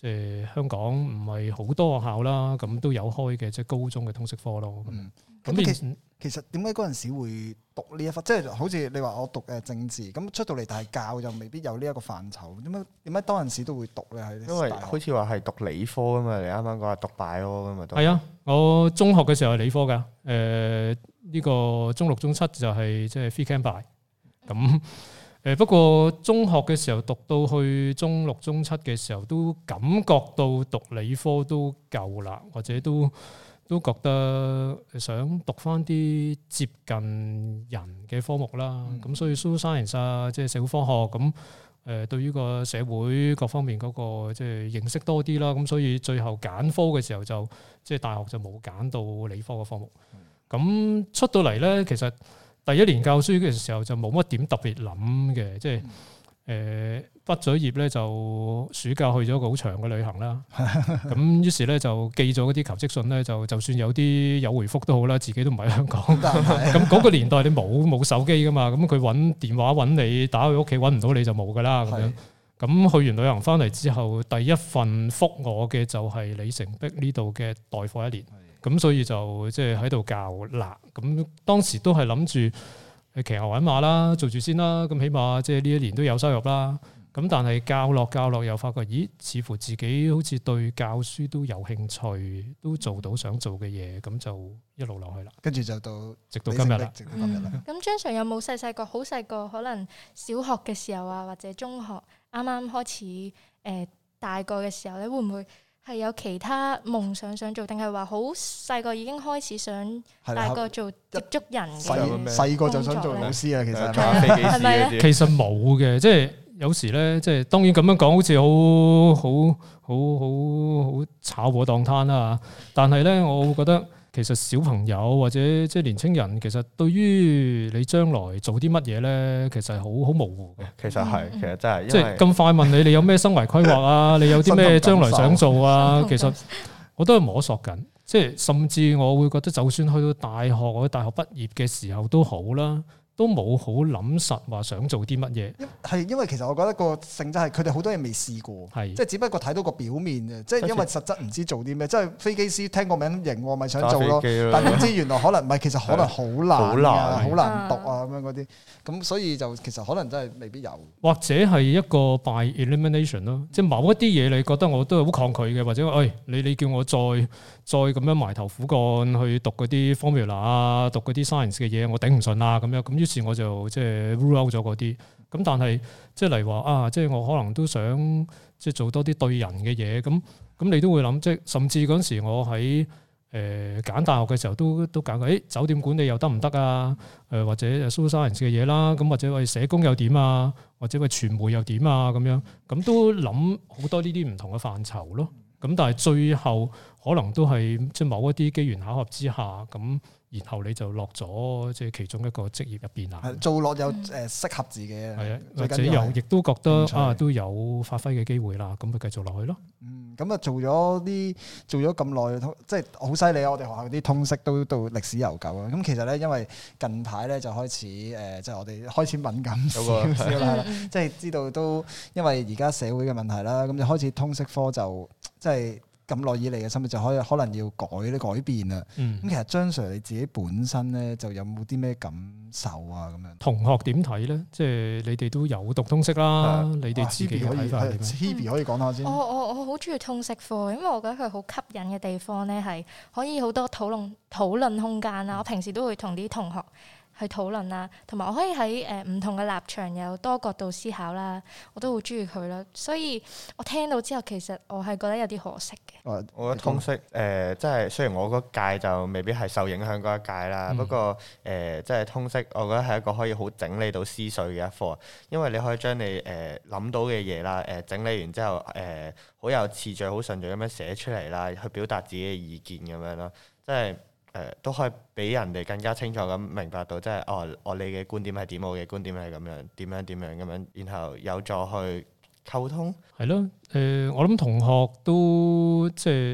即係香港唔係好多學校啦，咁都有開嘅即係高中嘅通識科咯。 嗯，咁其實其實點解嗰陣時會讀呢一科？即係好似你話我讀誒政治，咁出到嚟但係教就未必有呢一個範疇。點解點解當陣時都會讀咧？係因為好似話係讀理科㗎嘛，你啱啱講話讀 bio 㗎嘛。 係啊，我中學嘅時候係理科㗎。誒、呃、呢、呢個中六中七就係即係 free camp by 咁。誒不過中學嘅時候讀到去中六中七嘅時候，都感覺到讀理科都夠啦，或者都都覺得想讀翻啲接近人嘅科目啦。咁、嗯、所以 social science 啊，即係社會科學咁誒，對於個社會各方面嗰個即係認識多啲啦。咁所以最後揀科嘅時候就即係大學就冇揀到理科嘅科目。咁出到嚟咧，其實第一年教書嘅時候就冇乜點特別諗嘅，即係誒畢咗業咧就暑假去咗個好長嘅旅行啦。咁於是咧就寄咗嗰啲求職信咧，就就算有啲有回覆都好啦，自己都唔喺香港。咁嗰個年代你冇冇手機噶嘛，咁佢揾電話揾你，打去屋企揾唔到你就冇噶啦咁樣。咁去完旅行翻嚟之後，第一份覆我嘅就係里程碑呢度嘅代課一年。咁所以就即係喺度教啦。咁當時都係諗住去騎牛揾馬啦，做住先啦。咁起碼即係呢一年都有收入啦。咁但係教落教落又發覺，咦？似乎自己好似對教書都有興趣，都做到想做嘅嘢，咁就一路落去啦。 跟住就到直到今日啦。 直到今日啦。 咁張 Sir 有冇細細個好細個，可能小學嘅時候啊，或者中學啱啱開始誒、呃、大個嘅時候咧，會唔會係有其他夢想想做，定係話好細個已經開始想大個做接觸人嘅？ 細個就想做老師啊，其實揸飛機師嗰啲。 其實冇嘅，即係有時咧，即係當然咁樣講，好似好好好好好炒火檔攤啦。但係咧，我會覺得其實小朋友或者即係年青人，其實對於你將來做啲乜嘢咧，其實係好好模糊嘅。 其實係，其實真係， 即係咁快問你，你有咩生涯規劃啊？你有啲咩將來想做啊？其實我都係摸索緊，即係甚至我會覺得，就算去到大學或者大學畢業嘅時候都好啦。都冇好諗實話想做啲乜嘢， 係因為其實我覺得個性質係佢哋好多嘢未試過， 係即係只不過睇到個表面嘅，即係因為實質唔知做啲咩，即係飛機師聽個名型，我咪想做咯，但點知原來可能唔係，其實可能好難啊，好難讀啊咁樣嗰啲，咁所以就其實可能真係未必有， 或者係一個 by elimination 咯，即係某一啲嘢你覺得我都係好抗拒嘅，或者誒你你叫我再再咁樣埋頭苦幹去讀嗰啲 formula 啊，讀嗰啲 science 嘅嘢，我頂唔順啊咁樣咁。於是我就即係 rule out 咗嗰啲，咁但係即係嚟話啊，即係我可能都想即係做多啲對人嘅嘢，咁咁你都會諗，即係甚至嗰陣時我喺誒揀大學嘅時候都都揀過，誒酒店管理又得唔得啊？誒或者 social science 嘅嘢啦，咁或者喂社工又點啊？或者喂傳媒又點啊？咁樣咁都諗好多呢啲唔同嘅範疇咯。咁但係最後可能都係即係某一啲機緣巧合之下咁。然後你就落咗即係其中一個職業入邊啦， 做落有誒適合自己嘅， 係啊，或者又亦都覺得啊都有發揮嘅機會啦，咁咪繼續落去咯。 嗯，咁啊做咗啲做咗咁耐，即係好犀利啊！我哋學校啲通識都到歷史悠久啊。咁其實咧，因為近排咧就開始誒，即係我哋開始敏感少少啦，即係知道都因為而家社會嘅問題啦，咁就開始通識科就即係。咁耐以嚟嘅生活就可以可能要改咧改變啦。咁、嗯、其實張 Sir 你自己本身咧就有冇啲咩感受啊？咁樣同學點睇咧？即係你哋都有讀通識啦，的你哋自己嘅睇法係點樣？ Hebe 可以講下先。我我我好中意通識科，因為我覺得佢好吸引嘅地方咧係可以好多討論討論空間啦。我平時都會同啲同學去討論啦，同埋我可以喺誒唔同嘅立場有多角度思考啦，我都好中意佢啦。所以我聽到之後，其實我係覺得有啲可惜嘅。 我覺得通識誒、呃，即係雖然我嗰屆就未必係受影響嗰一屆啦，嗯、不過誒、呃，即係通識，我覺得係一個可以好整理到思緒嘅一課，因為你可以將你誒諗、呃、到嘅嘢啦，誒、呃、整理完之後誒，好、呃、有次序、好順序咁樣寫出嚟啦，去表達自己嘅意見咁樣咯，即係。誒、呃、都可以俾人哋更加清楚咁明白到，即係哦，我你嘅觀點係點，我嘅觀點係咁樣，點樣點樣咁樣，然後有助去溝通。 係咯，誒、呃、我諗同學都即係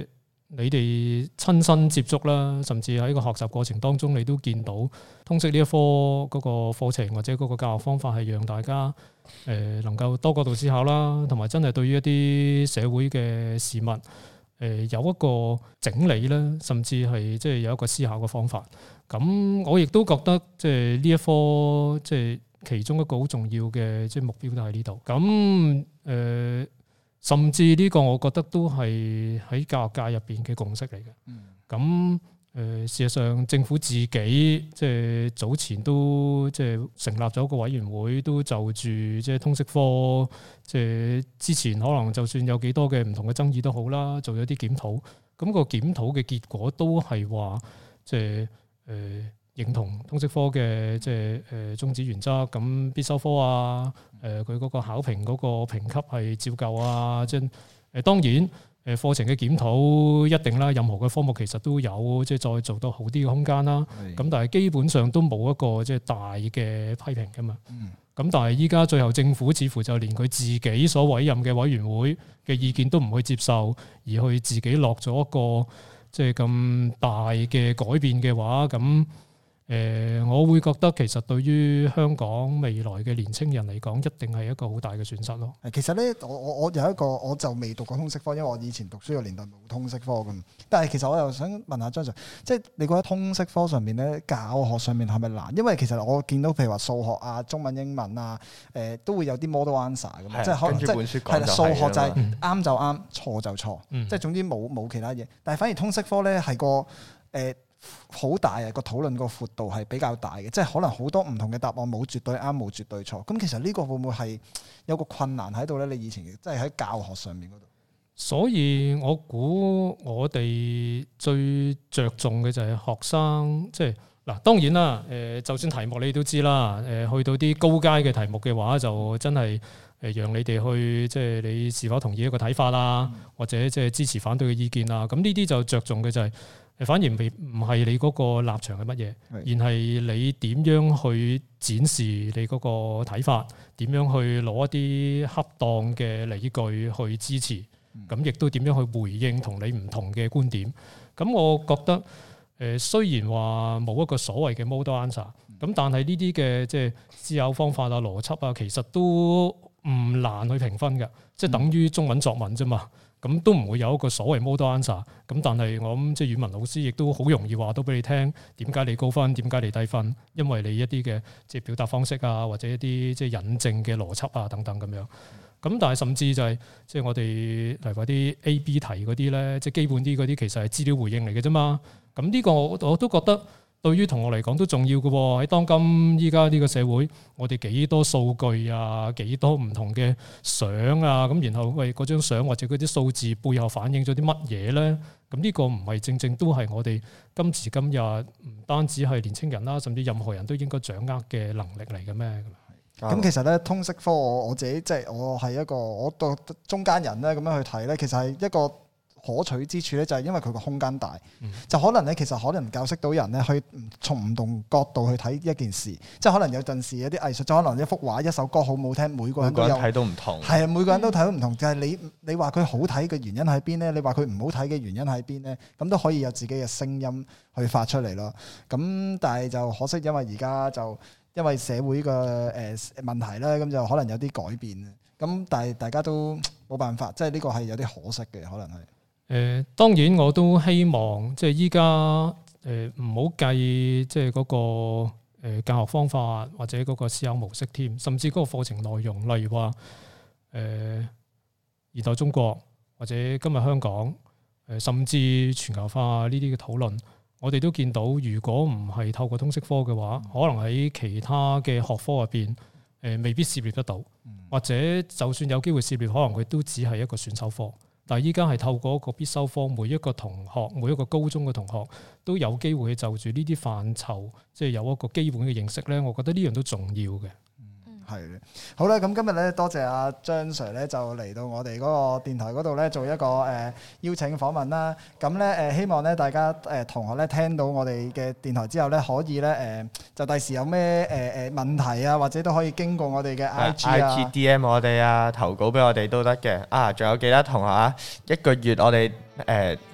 你哋親身接觸啦，甚至喺個學習過程當中，你都見到通識呢一科嗰個課程或者嗰個教學方法係讓大家誒能夠多角度思考啦，同埋真係對於一啲社會嘅事物誒有一個整理啦，甚至係即係有一個思考嘅方法。咁我亦都覺得即係呢一科即係其中一個好重要嘅即係目標都喺呢度。咁誒。呃甚至呢個我覺得都係喺教育界入邊嘅共識嚟嘅。咁誒、嗯，事實上政府自己即係早前都即係成立咗一個委員會，都就住即係通識科，即係之前可能就算有幾多嘅唔同嘅爭議都好啦，做咗啲檢討。咁個檢討嘅結果都係話，即係誒認同通識科嘅即係誒宗旨原則，咁必修科啊。誒佢嗰個考評嗰個評級係照舊啊，即係誒當然誒課程嘅檢討一定啦，任何嘅科目其實都有即係再做到好啲嘅空間啦。咁但係基本上都冇一個即係大嘅批評㗎嘛。咁但係依家最後政府似乎就連佢自己所委任嘅委員會嘅意見都唔去接受，而去自己落咗一個即係咁大嘅改變嘅話，咁。誒、呃，我會覺得其實對於香港未來嘅年青人嚟講，一定係一個好大嘅損失咯。 其實咧，我我我有一個，我就未讀過通識科，因為我以前讀書嘅年代冇通識科咁。但係其實我又想問下張 Sir，即係你覺得通識科上面咧，教學上面係咪難？因為其實我見到譬如話數學啊、中文、英文啊，誒、呃、都會有啲 model answer 咁， 的即係可能即係係啦，數學就係啱就啱，錯就錯，嗯、即係總之冇冇其他嘢。但係反而通識科咧係個誒。呃好大啊！個討論個闊度係比較大嘅，即係可能好多唔同嘅答案冇絕對啱，冇絕對錯。咁其實呢個會唔會係有個困難喺度咧？你以前即係喺教學上面嗰度。所以我估我哋最着重嘅就係學生，即係嗱，當然啦，誒，就算題目你都知啦，誒，去到啲高階嘅題目嘅話，就真係誒，讓你哋去即係你是否同意一個睇法啊，嗯、或者即係支持反對嘅意見啊。咁呢啲就着重嘅就係。反而未唔係你嗰個立場係乜嘢，的而係你點樣去展示你嗰個睇法，點樣去攞一啲恰當嘅理據去支持，咁亦都點樣去回應同你唔同嘅觀點。咁我覺得誒雖然話冇一個所謂嘅 model answer，咁但係呢啲嘅即係思考方法啊、邏輯啊，其實都唔難去評分嘅，即係等於中文作文啫嘛。咁都唔會有一個所謂 model answer，咁但係我諗即係語文老師亦都好容易話到俾你聽點解你高分，點解你低分，因為你一啲嘅即係表達方式啊，或者一啲即係引證嘅邏輯啊等等咁樣。咁但係甚至就係即係我哋例如話啲 A B 題嗰啲咧，即係基本啲嗰啲其實係資料回應嚟嘅啫嘛。咁呢個我我都覺得。對於同學嚟講都重要嘅喎，喺當今依家呢個社會，我哋幾多數據啊，幾多唔同嘅相啊，咁然後喂嗰張相或者嗰啲數字背後反映咗啲乜嘢咧？咁呢個唔係正正都係我哋今時今日唔單止係年青人啦，甚至任何人都應該掌握嘅能力嚟嘅咩？ 咁其實咧，通識科我我自己即係我係一個我讀中間人咧，咁樣去睇咧，其實係一個。可取之處咧，就係因為佢個空間大，嗯、就可能咧，其實可能教識到人咧，去從唔同角度去睇一件事，即係可能有陣時有啲藝術，就可能一幅畫、一首歌好唔好聽，每個人都有睇到唔同， 係啊，每個人都睇到唔同。就係、是、你你話佢好睇嘅原因喺邊咧？你話佢唔好睇嘅原因喺邊咧？咁都可以有自己嘅聲音去發出嚟咯。咁但係就可惜，因為而家就因為社會嘅誒問題咧，咁就可能有啲改變。咁但係大家都冇辦法，即係呢個係有啲可惜嘅，可能係。 誒、呃、當然我都希望即係依家誒唔好計即係嗰個、呃、教學方法或者嗰個思考模式添，甚至嗰個課程內容，例如話誒現代中國或者今日香港誒、呃，甚至全球化呢啲嘅討論，我哋都見到，如果唔係透過通識科嘅話，可能喺其他嘅學科入邊誒、呃、未必涉獵得到，或者就算有機會涉獵，可能佢都只係一個選修科。但係依家係透過一個必修科，每一個同學，每一個高中嘅同學都有機會去就住呢啲範疇，即係有一個基本嘅認識咧。我覺得呢樣都重要嘅。係嘅，好啦，咁今日咧多謝阿張 Sir 咧就嚟到我哋嗰個電台嗰度咧做一個誒、呃、邀請訪問啦。咁咧誒希望咧大家誒、呃、同學咧聽到我哋嘅電台之後咧，可以咧誒、呃、就第時有咩誒誒問題啊，或者都可以經過我哋嘅 I G 啊 I G D M 我哋啊，投稿俾我哋都得嘅。啊，仲有記得同學啊，一個月我哋誒。呃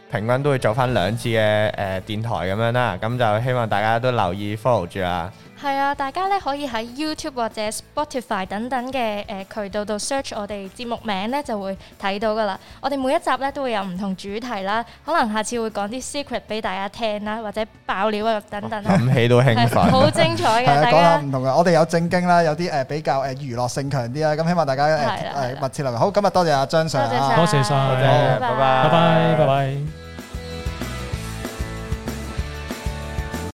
平均都會做翻兩次嘅誒電台咁樣啦。咁就希望大家都留意 follow 住啦。 係啊，大家咧可以喺 YouTube 或者 Spotify 等等嘅誒、呃、渠道度 search 我哋節目名咧，就會睇到噶啦。我哋每一集咧都會有唔同主題啦，可能下次會講啲 secret 俾大家聽啦，或者爆料啊等等。 諗起都興奮， 好精彩嘅。大家講下唔同嘅，我哋有正經啦，有啲誒比較誒娛樂性強啲啦。咁希望大家誒誒密切留意。好，今日多謝阿張 Sir， 多謝晒， 拜拜， 拜拜，拜拜。